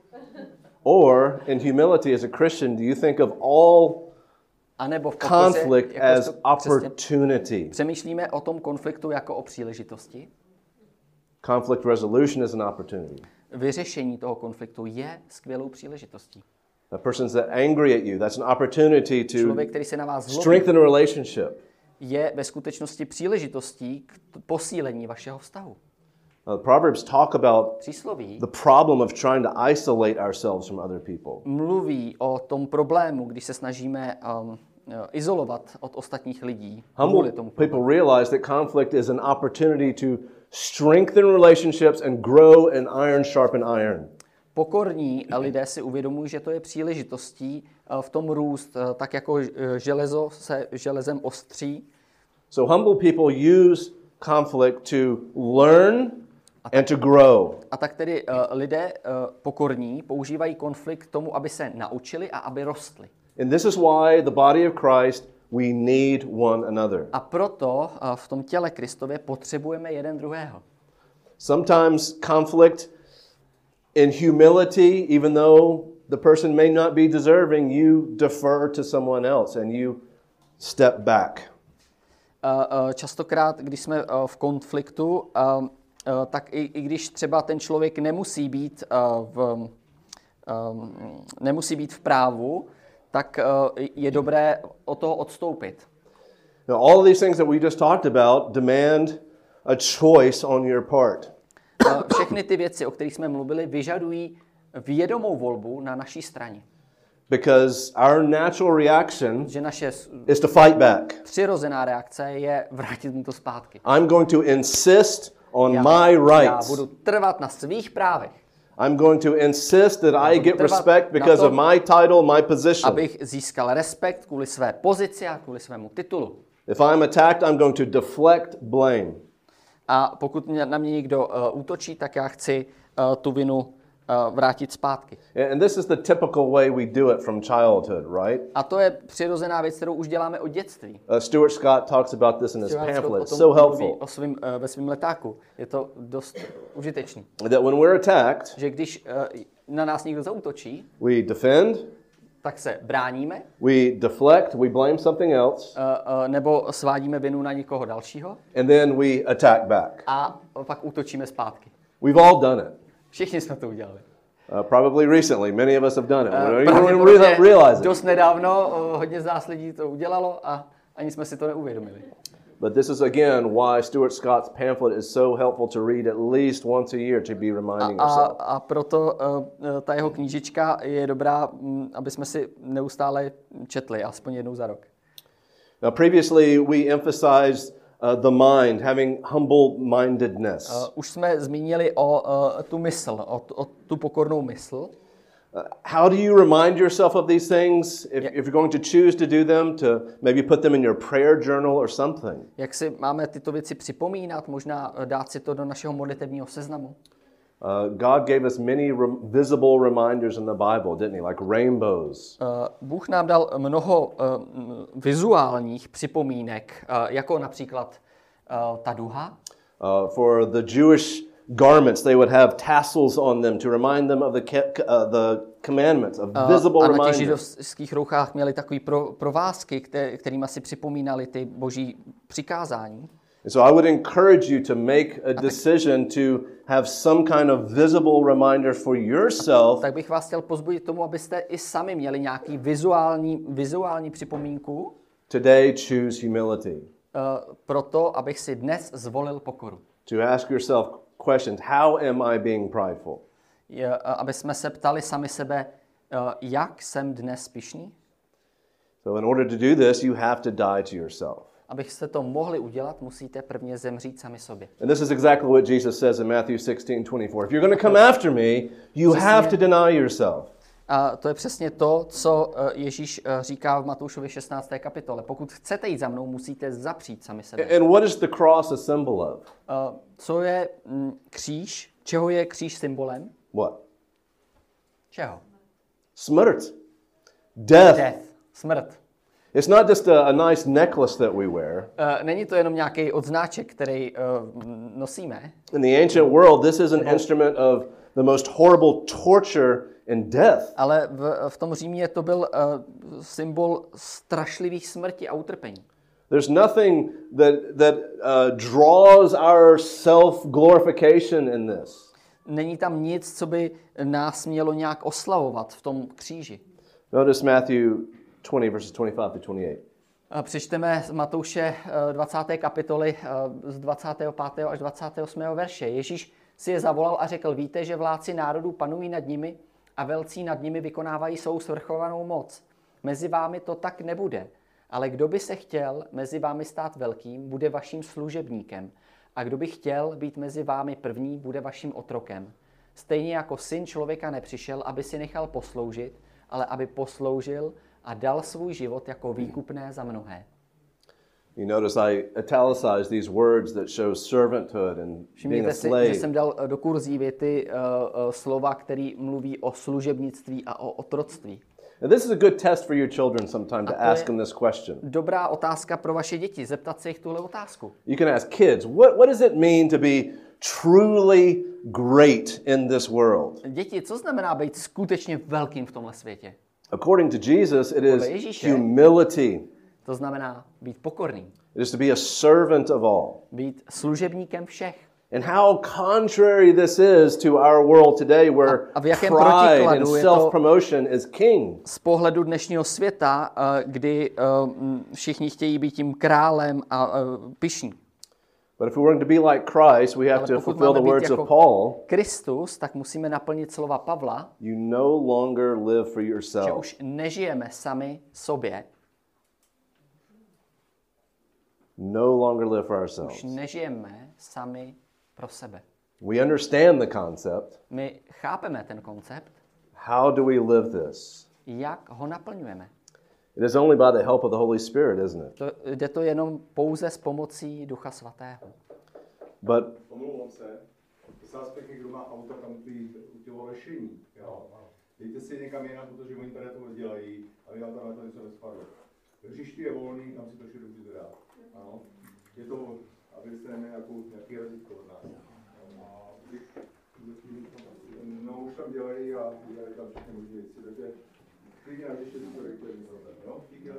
Or, in humility as a Christian, do you think of all A nebo v pokoře, conflict as jakožto křesťan, opportunity? přemýšlíme o tom konfliktu jako o příležitosti. Conflict resolution is an opportunity. Vyřešení toho konfliktu je skvělou příležitostí. A person's that angry at you, that's an opportunity to Člověk, který se na vás zlobí, strengthen a relationship. je ve skutečnosti příležitostí k t- posílení vašeho vztahu. Uh, Proverbs talk about Přísloví the problem of trying to isolate ourselves from other people. mluví o tom problému, když se snažíme um, izolovat od ostatních lidí. Humble Kvůli tomu people realize that conflict is an opportunity to strengthen relationships and grow and iron sharpen iron. Pokorní lidé si uvědomují, že to je příležitostí uh, v tom růst, uh, tak jako uh, železo se železem ostří. So humble people use conflict to learn and to grow. A tak tedy uh, lidé uh, pokorní používají konflikt k tomu, aby se naučili a aby rostli. And this is why the body of Christ, we need one another. A proto uh, v tom těle Kristově potřebujeme jeden druhého. Sometimes conflict in humility, even though the person may not be deserving, you defer to someone else and you step back. Uh, uh, častokrát, když jsme uh, v konfliktu, uh, uh, tak i, i když třeba ten člověk nemusí být uh, v, um, nemusí být v právu, tak uh, je dobré od toho odstoupit. Now, all of these things that we just talked about demand a choice on your part. Uh, všechny ty věci, o kterých jsme mluvili, vyžadují vědomou volbu na naší straně. Because our natural reaction Že naše is to fight back. přirozená reakce je vrátit mu to zpátky. I'm going to insist on Já, my já rights. budu trvat na svých právech, I'm going to insist that I budu get trvat respect na because of tom, my title, my position. abych získal respekt kvůli své pozici a kvůli svému titulu. If I'm attacked, I'm going to deflect blame. A pokud mě, na mě někdo uh, útočí, tak já chci uh, tu vinu uh, vrátit zpátky. And this is the typical way we do it from childhood, right? A to je přirozená věc, kterou už děláme od dětství. Uh, Stuart Scott talks about this in his Stuart Scott pamphlet. o It's tom so mluví helpful. o svým, uh, ve svém letáku. Je to dost užitečný. That when we're attacked, Že když uh, na nás někdo zaútočí, we defend, tak se bráníme, we deflect, we blame something else, uh, uh, nebo svádíme vinu na někoho dalšího and then we attack back. a pak útočíme zpátky. We've all done it. Všichni jsme to udělali. Uh, probably recently, many of us have done it. We Uh, don't even pravděpodobně re- realize it. dost nedávno uh, hodně z nás lidí to udělalo a ani jsme si to neuvědomili. But this is again why Stuart Scott's pamphlet is so helpful to read at least once a year to be reminding A, yourself. a proto uh, ta jeho knížička je dobrá, um, aby jsme si neustále četli, aspoň jednou za rok. Now, previously we emphasized uh, the mind, having humble-mindedness. Uh, už jsme zmínili o uh, tu mysl, o, o tu pokornou mysl. Uh, how do you remind yourself of these things? If, Yeah. if you're going to choose to do them, to maybe put them in your prayer journal or something. Jak si máme tyto věci připomínat, možná uh, dát si to do našeho modlitevního seznamu. Uh, God gave us many rem- visible reminders in the Bible, didn't he? Like rainbows. Uh, Bůh nám dal mnoho uh, vizuálních připomínek, uh, jako například uh, ta duha. Uh, for the Jewish garments, they would have tassels on them to remind them of the ca- uh, the commandments, of visible A na těch reminders. židovských rouchách měli takový pro, provázky, které, kterými si připomínali ty boží přikázání. And so I would encourage you to make a decision to have some kind of visible reminder for yourself Tak bych vás chtěl pozbudit tomu, abyste i sami měli nějaký vizuální, vizuální připomínku, today choose humility. uh, proto, abych si dnes zvolil pokoru. To ask yourself questions, how am I being prideful? Je, uh, aby jsme se ptali sami sebe, uh, jak jsem dnes pyšný? So in order to do this, you have to die to yourself. Abyste to mohli udělat, musíte prvně zemřít sami sobě. And this is exactly what Jesus says in Matthew sixteen twenty-four. If you're going to come after me, you have to deny yourself. A to je přesně to, co Ježíš říká v Matoušově šestnácté kapitole. Pokud chcete jít za mnou, musíte zapřít sami sebe. And what is the cross a symbol of? Co je kříž? Čeho je kříž symbolem? What? Čeho? Smrt. Death. Death. Smrt. It's not just a, a nice necklace that we wear. Uh, není to jenom nějaký odznáček, který uh, nosíme. In the ancient world, this is an instrument of the most horrible torture and death. Ale v, v tom Římě to byl uh, symbol strašlivých smrti a utrpení. There's nothing that that uh, draws our self-glorification in this. Není tam nic, co by nás mělo nějak oslavovat v tom kříži. Notice Matthew twenty verses twenty-five to twenty-eight. Přečteme z Matouše dvacáté kapitoly z dvacátého pátého až dvacátého osmého verše. Ježíš si je zavolal a řekl: víte, že vládci národů panují nad nimi a velcí nad nimi vykonávají svou svrchovanou moc. Mezi vámi to tak nebude, ale kdo by se chtěl mezi vámi stát velkým, bude vaším služebníkem. A kdo by chtěl být mezi vámi první, bude vaším otrokem. Stejně jako syn člověka nepřišel, aby si nechal posloužit, ale aby posloužil a dal svůj život jako výkupné za mnohé. You notice I italicized these words that show servanthood and being a Všimněte si, slave. že jsem dal do kurzívy ty uh, uh, slova, které mluví o služebnictví a o otroctví. And this is a good test for your children sometime to ask them this question. Dobrá otázka pro vaše děti, zeptat se jich tuhle otázku. You can ask kids, what, what does it mean to be truly great in this world? Děti, co znamená být skutečně velkým v tomhle světě? According to Jesus, it is Ježíše, humility. To znamená být pokorný. It is to be a servant of all. Být služebníkem všech. And how contrary this is to our world today, where a, a v jakém pride and protikladu je to self-promotion is king. Z pohledu dnešního světa, kdy všichni chtějí být tím králem a pyšní. But if we want to be like Christ, we have to fulfill the words of Paul. Kristus, tak musíme naplnit slova Pavla. You no longer live for Že yourself. už nežijeme sami sobě. No longer live for Už ourselves. nežijeme sami pro sebe. We understand the concept. My chápeme ten koncept. How do we live this? Jak ho naplňujeme? It is only by the help of the Holy Spirit, isn't it? To, jde to jenom pouze s pomocí Ducha Svatého. But Omlouvám se, prosím vás pěkně, kdo má auto, tam ty, tělo lešení, jo. Dejte si někam jinam, protože oni tady to dělají, aby vám tam na to něco nespadlo. Hřiště je volný, tam si to všechno můžete dát. Ano. Je to, abyste neměli nějakou, nějaký razítko od nás. No, už tam dělají a dělají tam všechny možné věci, takže klidně na ještě to rektor, jo. Díky,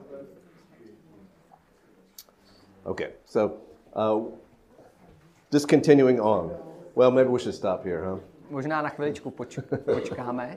okay, so uh, just continuing on. Well, maybe we should stop here, huh? Možná na chviličku poč- počkáme.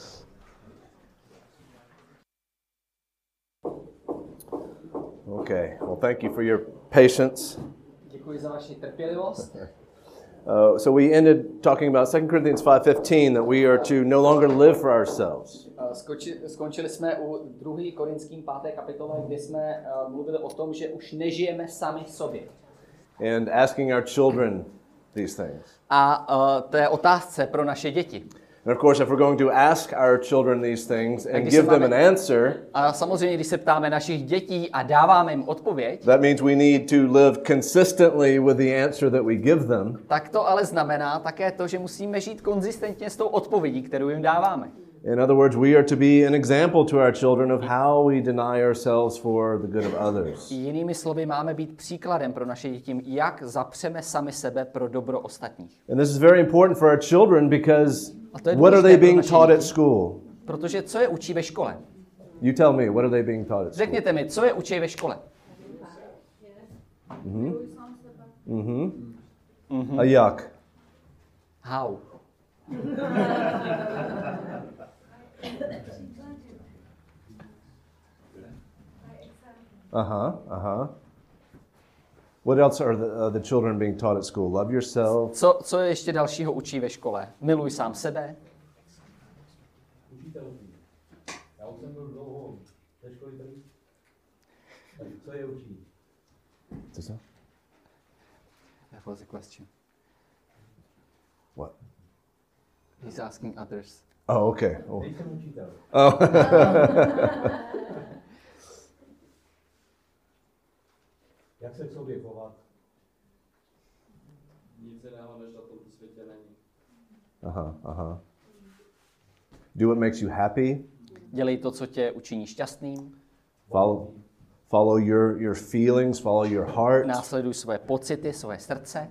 Okay. Well, thank you for your patience. Děkuji za vaši trpělivost. Uh, so we ended talking about Second Corinthians five fifteen, that we are to no longer live for ourselves. Skoči, skončili jsme u druhé Korinským páté kapitole, kde jsme uh, mluvili o tom, že už nežijeme sami sobě. And asking our children these things. A uh, to je otázce pro naše děti. And of course, if we're going to ask our children these things and give them an answer, a samozřejmě, když se ptáme našich dětí a dáváme jim odpověď, that means we need to live consistently with the answer that we give them. Tak to ale znamená také to, že musíme žít konzistentně s tou odpovědí, kterou jim dáváme. In other words, we are to be an example to our children of how we deny ourselves for the good of others. Jinými slovy, máme být příkladem pro naše děti, jak zapřeme sami sebe pro dobro ostatních. And this is very important for our children because to je what are důležité they pro being naše taught at děti. school? Protože co je učí ve škole? You tell me, what are they being taught at school? Řekněte mi, co je učí ve škole? Mhm. Mhm. Mhm. A jak? How? Uh-huh, uh-huh. What else are the, uh, the children being taught at school? Love yourself. Co, co je ještě dalšího učí ve škole? Miluj sám sebe. Učitelství. Já už jsem byl dlouho ve škole tady Co je učí? Co to? That was a question. What? He's asking others. Oh, okay. Oh. Nejsem učitel. Oh. Jak se k sobě chovat? Nic jiného než na tomto světě není. Aha, aha. Do what makes you happy. Dělej to, co tě učiní šťastným. Follow, follow your, your feelings, follow your heart. Následuj svoje pocity, svoje srdce.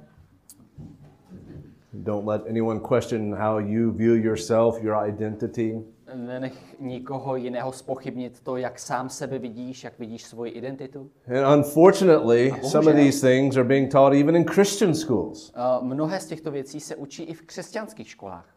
Don't let anyone question how you view yourself, your identity. Nenech nikoho jiného zpochybnit to, jak sám sebe vidíš, jak vidíš svoji identitu. And unfortunately, bohužel. some of these things are being taught even in Christian schools. Uh, mnohé z těchto věcí se učí i v křesťanských školách.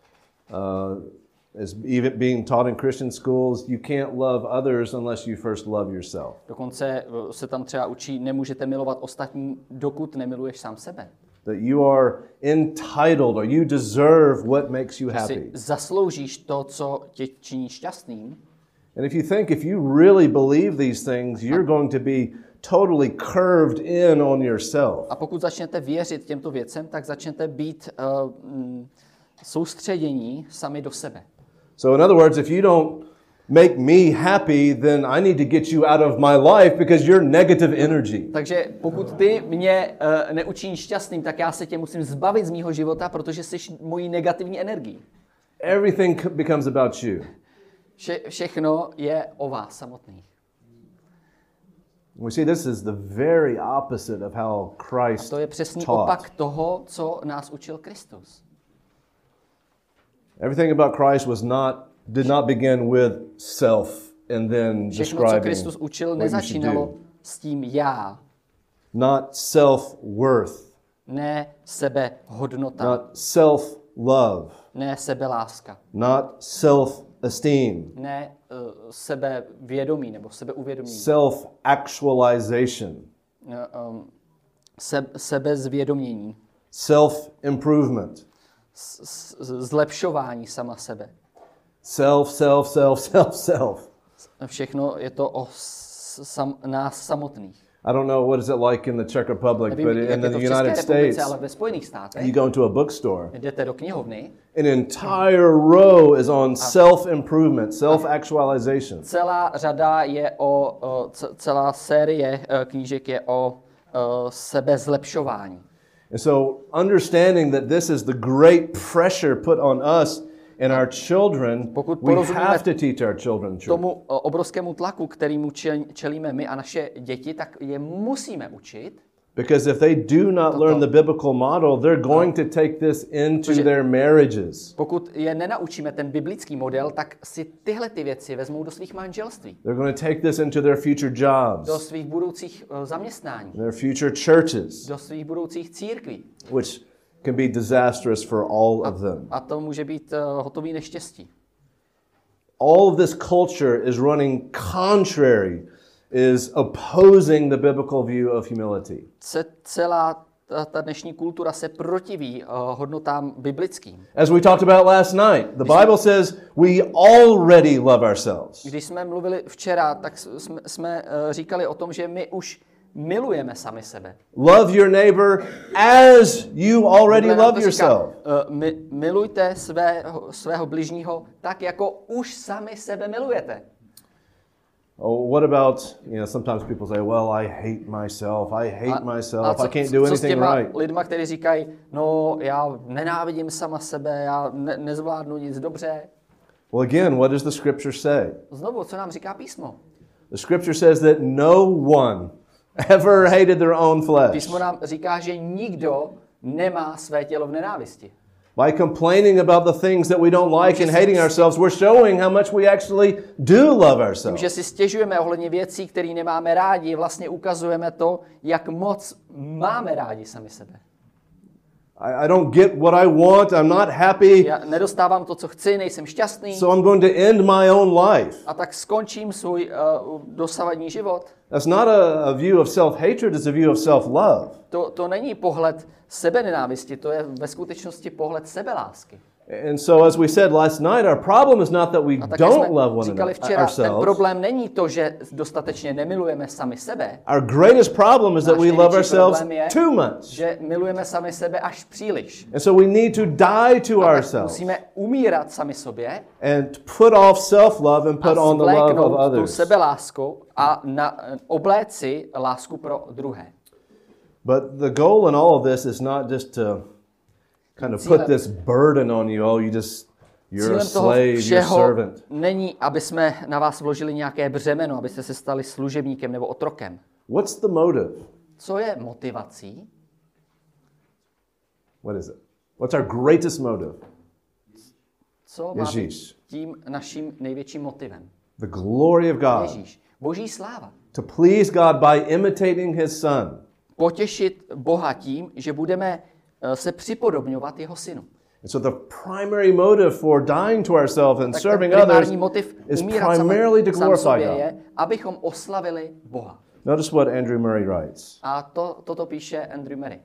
Uh, as even being taught in Christian schools, you can't love others unless you first love yourself. Dokonce uh, se tam třeba učí, nemůžete milovat ostatní, dokud nemiluješ sám sebe. That you are entitled or you deserve what makes you Že si happy. zasloužíš to, co tě činí šťastným. And if you think, if you really believe these things, you're going to be totally curved in on yourself. A pokud začnete věřit těmto věcem, tak začnete být uh, mm, soustředění sami do sebe. So in other words, if you don't make me happy, then I need to get you out of my life because you're negative energy. Takže pokud ty mě uh, neučiníš šťastným, tak já se tě musím zbavit z mýho života, protože jsi mojí negativní energií. Everything c- becomes about you. Vše, všechno je o vás samotných. We see this is the very opposite of how Christ To je přesný taught. opak toho, co nás učil Kristus. Everything about Christ was not did not begin with self and then Všechno, co describing Kristus učil, what you should nezačínalo do. s tím já, Not self-worth, ne sebehodnota, not self-love, ne sebeláska, not self-esteem, ne uh, sebevědomí nebo sebeuvědomění, self-actualization, uh, um, se, sebezvědomění, self-improvement, s, s, zlepšování sama sebe. self, self, self, self, self. Všechno je to o s, sam, nás samotných. I don't know what is it like in the Czech Republic, Nevím, but jak in je the to v United České republice, States, ale ve Spojených státech you go into a bookstore, jdete do knihovny, an entire row is on self-improvement, self-actualization. celá řada je o, o c- celá série uh, knížek je o uh, sebezlepšování. And so understanding that this is the great pressure put on us and our children, Pokud we porozumíme have to teach our children truth. Tomu uh, obrovskému tlaku, kterýmu čel- čelíme my a naše děti, tak je musíme učit, Because if they do not learn the biblical model, they're going to take this into Protože- their marriages. pokud je nenaučíme ten biblický model, tak si tyhle ty věci vezmou do svých manželství, They're going to take this into their future jobs, do svých budoucích uh, zaměstnání, their future churches, do svých budoucích církví. which can be disastrous for all of them. A to může být uh, hotový neštěstí. All of this culture is running contrary, is opposing the biblical view of humility. Ce- celá ta, ta dnešní kultura se protiví uh, hodnotám biblickým. As we talked about last night, the Bible says we already love ourselves. Když jsme mluvili včera, tak s- jsme, jsme uh, říkali o tom, že my už milujeme sami sebe. Love your neighbor as you already Bible nám love to říká, yourself. uh, mi, milujte svého, svého bližního tak, jako už sami sebe milujete. Oh, what about, you know, sometimes people say, well, I hate myself, I hate myself, co, I can't do co s anything těma right. lidma, kteří říkají, no já nenávidím sama sebe, já ne, nezvládnu nic dobře. Well, again, what does the scripture say? Znovu, co nám říká písmo? The scripture says that no one ever hated their own flesh. Písmo nám říká, že nikdo nemá své tělo v nenávisti. By complaining about the things that we don't like and hating ourselves, we're showing how much we actually do love Tím, ourselves. že si stěžujeme ohledně věcí, které nemáme rádi, vlastně ukazujeme to, jak moc máme rádi sami sebe. I, I don't get what I want, I'm not happy, Já nedostávám to, co chci, nejsem šťastný, so I'm going to end my own life. a tak skončím svůj uh, dosavadní život. That's not a, a view of self-hatred, it's a view of self-love. To, to není pohled sebenenávisti, to je ve skutečnosti pohled sebelásky. And so, as we said last night, our problem is not that we A tak don't jsme love one říkali another, včera, ten ourselves. problém není to, že dostatečně nemilujeme sami sebe, Our greatest problem is that Náš we love největší ourselves problém je, too much. že milujeme sami sebe až příliš. And so we need to die to A tak ourselves musíme umírat sami sobě and put off self-love and a put on the love of zvléknout tu others. sebelásku a na, obléci lásku pro druhé. But the goal in all of this is not just to kind of put this burden on you. Oh, you just, you're a Cílem toho slave, you're a všeho servant. není, aby jsme na vás vložili nějaké břemeno, abyste se stali služebníkem nebo otrokem. What's the motive? Co je motivací? What is it? What's our greatest motive? Co má být Ježíš. tím naším největším motivem? The glory of God. Ježíš. Boží sláva. To please God by imitating his son. Potěšit Boha tím, že budeme eh, se připodobňovat jeho synu. And so the primary motive for dying to ourselves and Tak ten serving others primární motiv is umírat primarily to sami, sám glorify sobě God. je, abychom oslavili Boha. Notice what Andrew Murray writes. A to, toto píše Andrew Murray.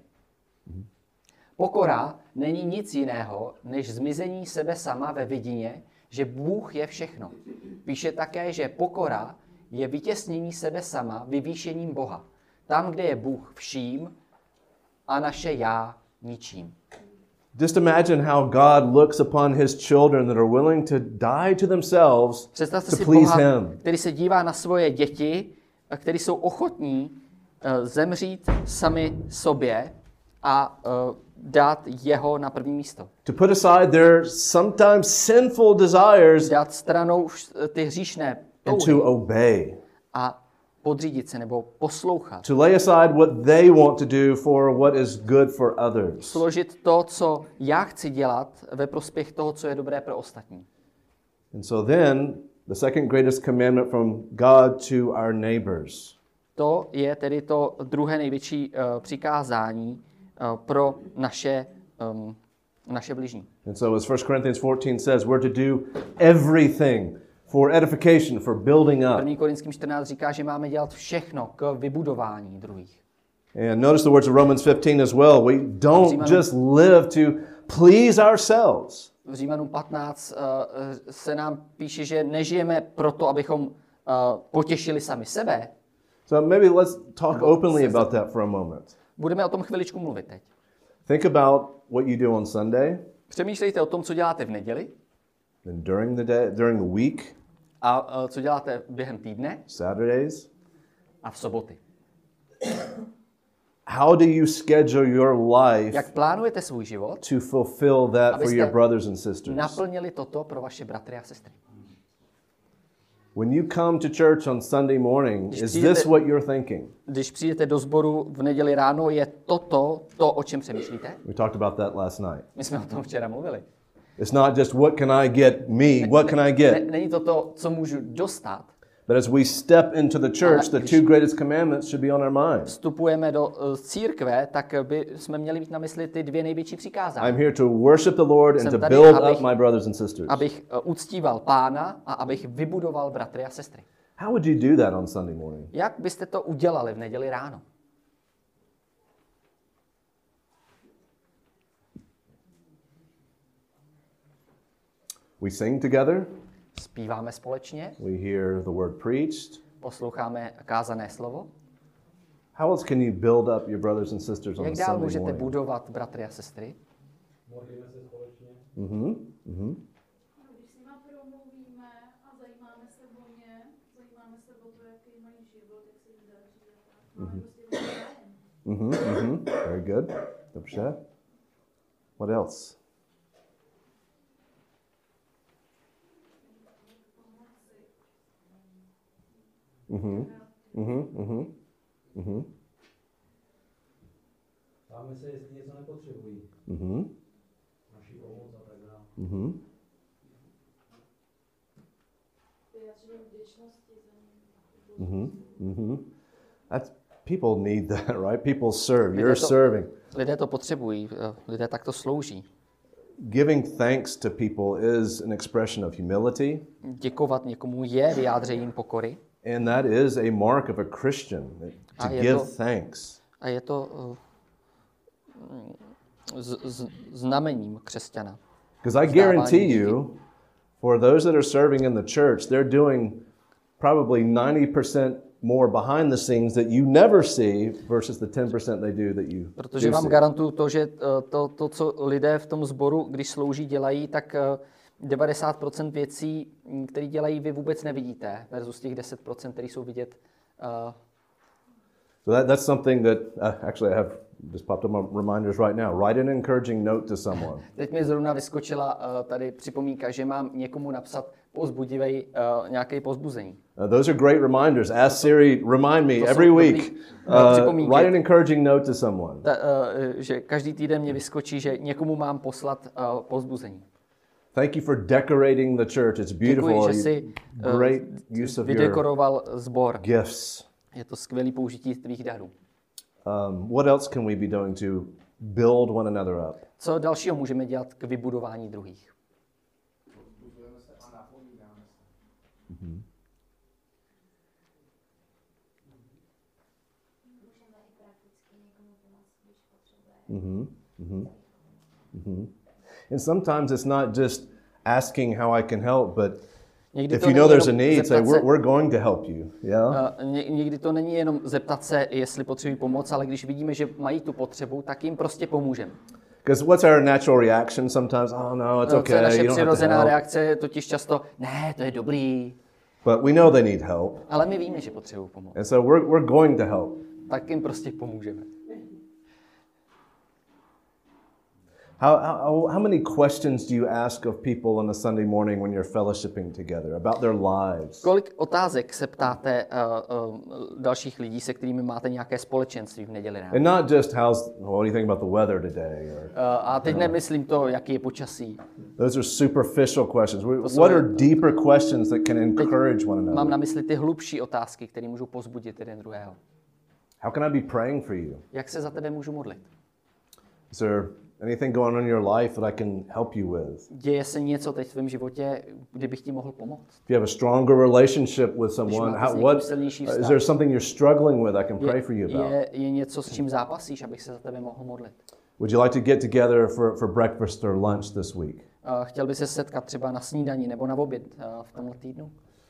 Pokora není nic jiného, než zmizení sebe sama ve vidině, že Bůh je všechno. Píše také, že pokora je vytěsnění sebe sama vyvýšením Boha. Tam, kde je Bůh vším a naše já ničím. Just imagine how God looks upon his children that are willing to die to themselves Představte to si please Boha, him. který se dívá na svoje děti, kteří jsou ochotní uh, zemřít sami sobě a uh, dát jeho na první místo. To put aside their sometimes sinful desires Dát stranou ty hříšné and touhy to obey. a podřídit se nebo poslouchat. To lay aside what they want to do for what is good for others. Složit to, co já chci dělat, ve prospěch toho, co je dobré pro ostatní. And so then, the second greatest commandment from God to our neighbors. To je tedy to druhé největší uh, přikázání uh, pro naše, um, naše bližní. And so as First Corinthians fourteen says, we're to do everything for edification, for building up. první Korinským čtrnáct říká, že máme dělat všechno k vybudování druhých. And notice the words of Romans fifteen as well. We don't Římanům- just live to please ourselves. V Římanům patnáct uh, se nám píše, že nežijeme proto, abychom uh, potěšili sami sebe. So maybe let's talk openly about that for a moment. Budeme o tom chviličku mluvit teď. Think about what you do on Sunday Přemýšlejte o tom, co děláte v neděli and during the day, during the week, a uh, co děláte během týdne Saturdays. a v soboty. How do you schedule your life Jak plánujete svůj život, to fulfill that for abyste your brothers and sisters? naplnili toto pro vaše bratry a sestry? When you come to church on Sunday morning, Když is přijdete- this what you're thinking? Když přijdete do sboru v neděli ráno, je toto to, o čem přemýšlíte? We talked about that last night. My jsme o tom včera mluvili. It's not just what can I get me, what can I Ne, get? není to to, co můžu dostat. But as we step into the church, the když- two greatest commandments should be on our minds. Vstupujeme do uh, církve, tak by jsme měli mít na mysli ty dvě největší přikázání. I'm here to worship the Lord and Jsem to tady, build abych- up my brothers and sisters. Abych uh, uctíval Pána a abych vybudoval bratry a sestry. How would you do that on Sunday morning? Jak byste to udělali v neděli ráno? We sing together, Zpíváme společně, we hear the word preached. posloucháme kázané slovo. How else can you build up your brothers and sisters on a Jak dál Sunday můžete morning? budovat bratry a sestry? Modlíme se společně. Mhm, mhm. Když s nima promluvíme a zajímáme se o ně, zajímáme se o to, jaký mají život, jak se jim daří a tak. Máme prostě zájem. Mhm, mhm. Very good. Dobře. What else? Mhm, mhm, mhm, mhm, Ptáme se, jestli něco nepotřebují. mhm, Naši pomoc a tak dále. mhm. Vyjadření vděčnosti za ně. Mm-hmm. Mm-hmm. That's people need that, right? People serve. Lidé You're to- serving. Lidé to potřebují, eh, lidé takto slouží. Giving thanks to people is an expression of humility, Děkovat někomu je vyjádřením pokory and that is a mark of a Christian, to A je give to- thanks. a je to eh, z, z, znamením křesťana. Because I guarantee you, for those that are serving in the church, they're doing probably ninety percent more behind the scenes that you never see versus the ten percent they do that you Protože do vám see. garantuju to, že to, to, co lidé v tom sboru, když slouží, dělají, tak devadesát procent věcí, které dělají, vy vůbec nevidíte, versus těch deset procent, které jsou vidět. Uh, So that, that's something that, uh, actually I have just popped up my reminders right now. Write an encouraging note to someone. Teď mi zrovna vyskočila uh, tady připomínka, že mám někomu napsat povzbudivej uh, nějaké povzbuzení. Uh, those are great reminders. Ask Siri, remind me To jsou every dobrý, week. uh, Uh, připomínky. write an encouraging note to someone. Ta, uh, že každý týden mě vyskočí, že někomu mám poslat uh, povzbuzení. Thank you for decorating the church. It's beautiful. Děkuji, že jsi uh, Great use of your vydekoroval sbor. gifts. Je to skvělé použití tvých darů. Um, what else can we be doing to build one another up? Co dalšího můžeme dělat k vybudování druhých? Mm-hmm. Mm-hmm. Mm-hmm. Mm-hmm. And sometimes it's not just asking how I can help, but Někdy if to you know není there's a jenom need, say zeptat we're, se- we're going to help you. Yeah. Uh, ně, někdy to není jenom zeptat se, jestli potřebují pomoc, ale když vidíme, že mají tu potřebu, tak jim prostě pomůžeme. Because what's our natural reaction sometimes? Oh no, it's Uh, Co je okay. naše You don't have to přirozená help. reakce, je totiž často, ne, to je dobrý, But we know they need help, ale my víme, že potřebují pomoc. and so we're we're going to help. Tak jim prostě pomůžeme. How, how, how many questions do you ask of people on a Sunday morning when you're fellowshipping together about their lives? Kolik otázek se ptáte uh, uh, dalších lidí, se kterými máte nějaké společenství v neděli ráno? And not just how's, what do you think about the weather today? Or, Uh, a teď nemyslím to, jaký je počasí. those are superficial questions. We- jsou- What are deeper questions that can encourage one Mám another? na mysli ty hlubší otázky, které můžou pozbudit jeden druhého. How can I be praying for you? Jak se za tebe můžu modlit? Is there anything going on in your life that I can help you with? Děje se něco teď v tvém životě, kdybych ti mohl pomoct? If you have a stronger relationship with someone, máte s how, někým what, silnější uh, is vztah. there something you're struggling with I can pray Je, for you about? je, je něco, s čím zápasíš, abych se za tebe mohl modlit? Would you like to get together for, for breakfast or lunch this week? Uh, chtěl by se setkat třeba na snídani nebo na oběd uh, v tomhle týdnu?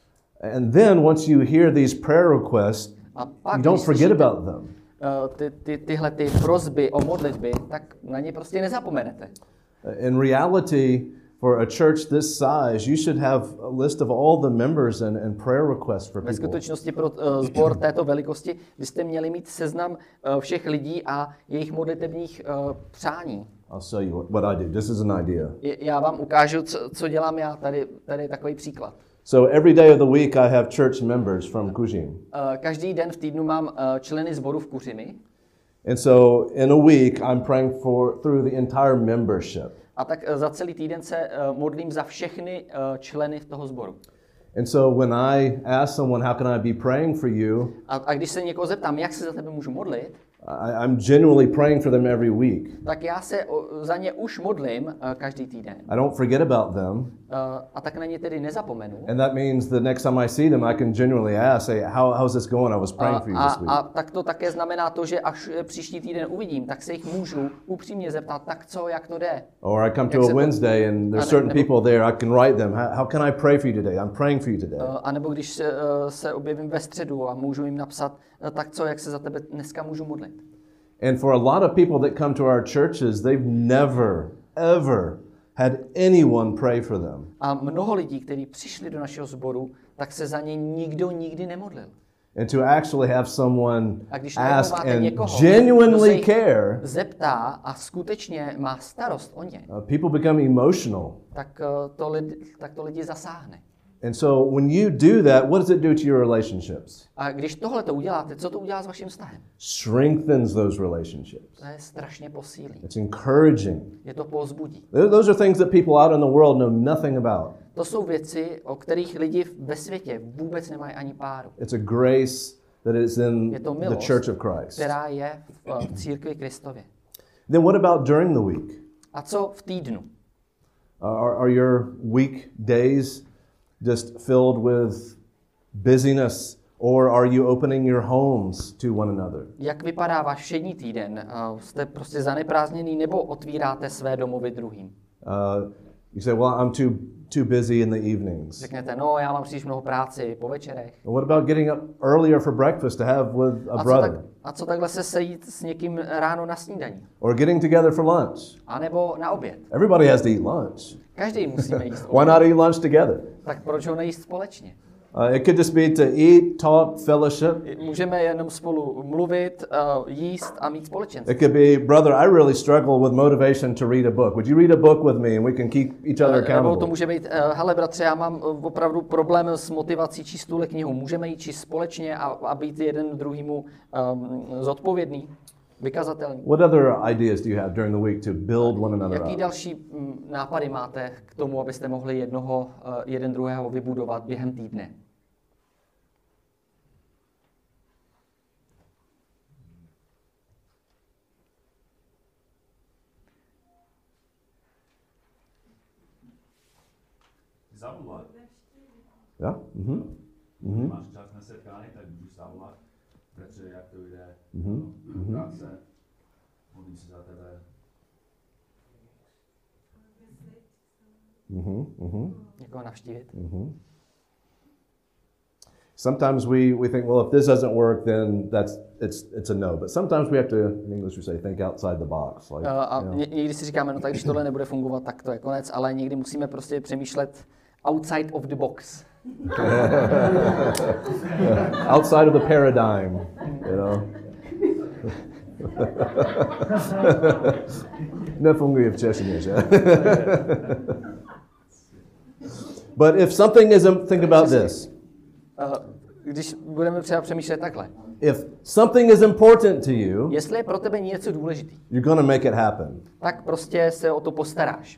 And then once you hear these prayer requests, A pak, you don't když forget slyšíte, about them. uh, ty, ty, tyhle ty prosby o modlitby, tak na ně prostě nezapomenete. In reality, for a church this size, you should have a list of all the members and, and prayer requests for Ve people. skutečnosti pro uh, sbor této velikosti byste měli mít seznam uh, všech lidí a jejich modlitebních uh, přání. I'll show you what, what I do. This is an idea. Je- Já vám ukážu, co, co dělám já. Tady, tady je takový příklad. So every day of the week, I have church members from Kujin. Uh, každý den v týdnu mám uh, členy sboru v Kuřimi. And so in a week, I'm praying for through the entire membership. A tak uh, za celý týden se uh, modlím za všechny uh, členy toho sboru. And so when I ask someone, how can I be praying for you, A, a když se někoho zeptám, jak se za tebe můžu modlit, I, I'm genuinely praying for them every week. tak já se o, za ně už modlím uh, každý týden. I don't forget about them. Uh, a tak na ně tedy nezapomenu. And that means the next time I see them, I can genuinely ask, say, How, how's this going? I was A, praying for you a, this week. a tak to také znamená to, že až eh, příští týden uvidím, tak se jich můžu upřímně zeptat, tak co, jak to jde. Or I come to Jak a se po- Wednesday and there's a ne- certain nebo- people there, I can write them, how, how can I pray for you today? I'm praying for you today. Uh, a nebo když se, uh, se objevím ve středu a můžu jim napsat, uh, tak co, jak se za tebe dneska můžu modlit. And for a lot of people that come to our churches, they've never, ever had anyone pray for them. A mnoho lidí, kteří přišli do našeho sboru, tak se za ně nikdo nikdy nemodlil. And to actually have someone A když najednou ask máte and někoho, kdo se genuinely jich care, zeptá a skutečně má starost o ně, uh, people become emotional. tak, uh, to lidi, tak to lidi zasáhne. And so when you do that, what does it do to your relationships? A když tohle to uděláte, co to udělá s vaším vztahem? Strengthens those relationships. To je strašně posílí. It's encouraging. Je to povzbudí. Th- Those are things that people out in the world know nothing about. To jsou věci, o kterých lidi ve světě vůbec nemají ani páru. It's a grace that is in Je to the milost, Church of Christ. která je v v církvi Kristově. Then what about during the week? A co v týdnu? Uh, Are, are your weekdays just filled with busyness, or are you opening your homes to one another? Jak vypadá váš všední týden? Uh, Jste prostě zaneprázdněný nebo otvíráte své domovy druhým? Uh, You say, well, I'm too too busy in the evenings. Řeknete, no, já mám příliš mnoho práci po večerech. What about getting up earlier for breakfast to have with a A co, brother? tak, a co takhle se sejít s někým ráno na snídaní? Or getting together for lunch? A nebo na oběd? Everybody has to eat lunch. Každý musíme jíst Why oběd. not eat lunch together? Tak proč ho nejíst společně? Uh, it could just be to eat, talk, fellowship. Můžeme jenom spolu mluvit, uh, jíst a mít společenství. It could be, brother, I really struggle with motivation to read a book. Would you read a book with me and we can keep each other Nebo to accountable? může být, uh, hele bratře, já mám uh, opravdu problém s motivací číst tuhle knihu. Můžeme ji číst společně a, a být jeden druhýmu um, zodpovědný, vykazatelný. What other ideas do you have during the week to build one another Jaký up? další mm, nápady máte k tomu, abyste mohli jednoho, uh, jeden druhého vybudovat během týdne? Zavolat. Yeah? Mm-hmm. Mm-hmm. Máš čas na setkání, tak můžu zavolat. Petře, jak to jde? Mm-hmm. Mm-hmm. Práce. Modlím se za tebe. Mm-hmm. Mm-hmm. Někoho navštívit? Mm-hmm. Sometimes we, we think, well, if this doesn't work, then that's it's it's a no. But sometimes we have to, in English we say, think outside the box. Like, Uh, a you know. ně, někdy si říkáme, no tak když tohle nebude fungovat, tak to je konec, ale někdy musíme prostě přemýšlet outside of the box. Outside of the paradigm, you know. Nefunguje v češtině, že? But if something isn't, think about this. Uh, když budeme třeba přemýšlet takhle. If something is important to you, Jestli je pro tebe něco důležitý, you're going to make it happen. tak prostě se o to postaráš.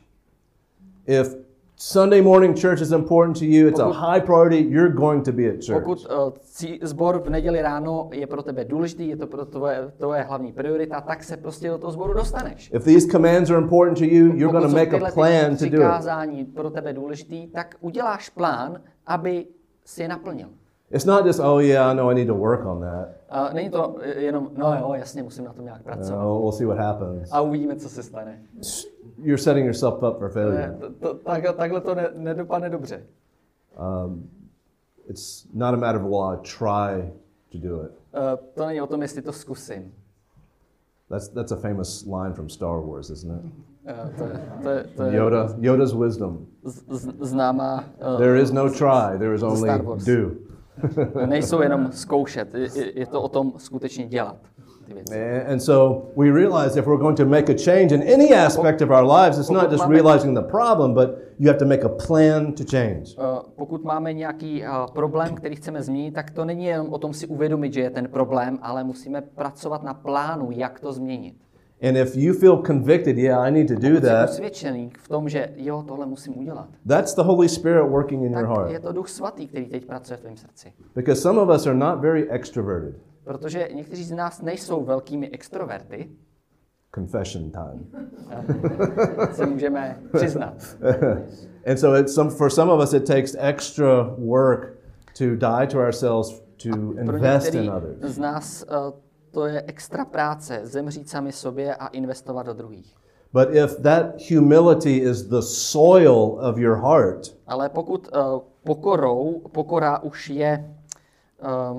If Sunday morning church is important to you, it's a Pokud- high priority, you're going to be at church. Pokud uh, cí- sbor v neděli ráno je pro tebe důležitý, je to pro tvoje, tvoje hlavní priorita, tak se prostě do toho sboru dostaneš. If these commands are important to you, you're going Pokud to jsou make tyhle a ty plan to do it. přikázání pro tebe důležitý, tak uděláš plán, aby si je naplnil. It's not just, oh yeah, I know I need to work on that. A není to jenom, no jo, jasně, musím na tom nějak pracovat. No, we'll see what happens. A uvidíme, co se stane. You're setting yourself up for failure. Ne, to, to, takhle, takhle to ne, nedopadne dobře. Um, it's not a matter of, well, I try to do it. Uh, to není o tom, jestli to zkusím. That's that's a famous line from Star Wars, isn't it? Uh, to, je, to, je, to je Yoda, Yoda's wisdom. z, z, známá... Uh, There is no try, there is Star only Wars. do. Nejsou jenom zkoušet, je, je to o tom skutečně dělat ty věci. And and so we realize if we're going to make a change in any aspect of our lives, it's not just realizing the problem, but you have to make a plan to change. Uh, pokud máme nějaký uh, problém, který chceme změnit, tak to není jenom o tom si uvědomit, že je ten problém, ale musíme pracovat na plánu, jak to změnit. And if you feel convicted, yeah, I need to do Pokud jsi that, usvědčený v tom, že jo, tohle musím udělat, that's the Holy Spirit working in your tak je heart. to Duch Svatý, který teď pracuje v tvém srdci. Because some of us are not very extroverted. Protože někteří z nás nejsou velkými extroverty, Confession time. se můžeme přiznat. And so it's some, for some of us, it takes extra work to die to ourselves to Pro invest některý in others. z nás uh, to je extra práce, zemřít sami sobě a investovat do druhých. But if that humility is the soil of your heart, Ale pokud uh, pokorou, pokora už je um,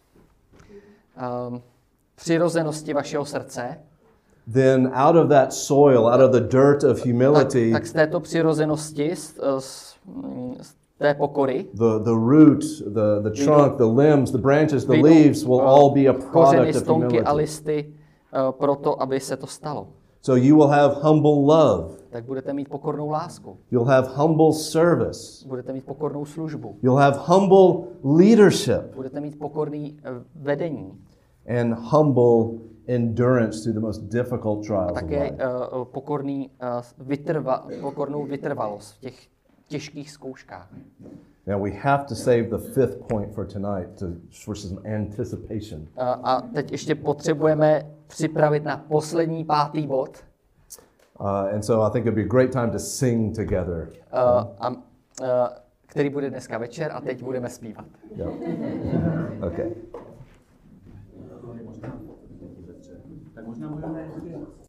um, přirozenosti vašeho srce, then out of that soil, out of the dirt of tak, humility, tak z této přirozenosti, z, z, z té pokory, the, the root, the, the trunk, the limbs, the branches, the vyjdou, leaves will uh, all be a kořeny, product of stonky a humility. listy uh, proto, aby se to stalo. So you will have humble love. Tak budete mít pokornou lásku, You'll have humble service. budete mít pokornou službu, You'll have humble leadership budete mít pokorný uh, vedení and humble endurance through the most difficult a trials of také life. uh, pokorný, uh, vytrva, pokornou vytrvalost v těch těžkých zkouškách. Now we have to save the fifth point for tonight to, for some anticipation. Uh, a teď ještě potřebujeme připravit na poslední pátý bod, Uh, and so I think it'd be a great time to sing together. uh, a, uh, který bude dneska večer a teď budeme zpívat. Yeah. Okay. Tak možná můžeme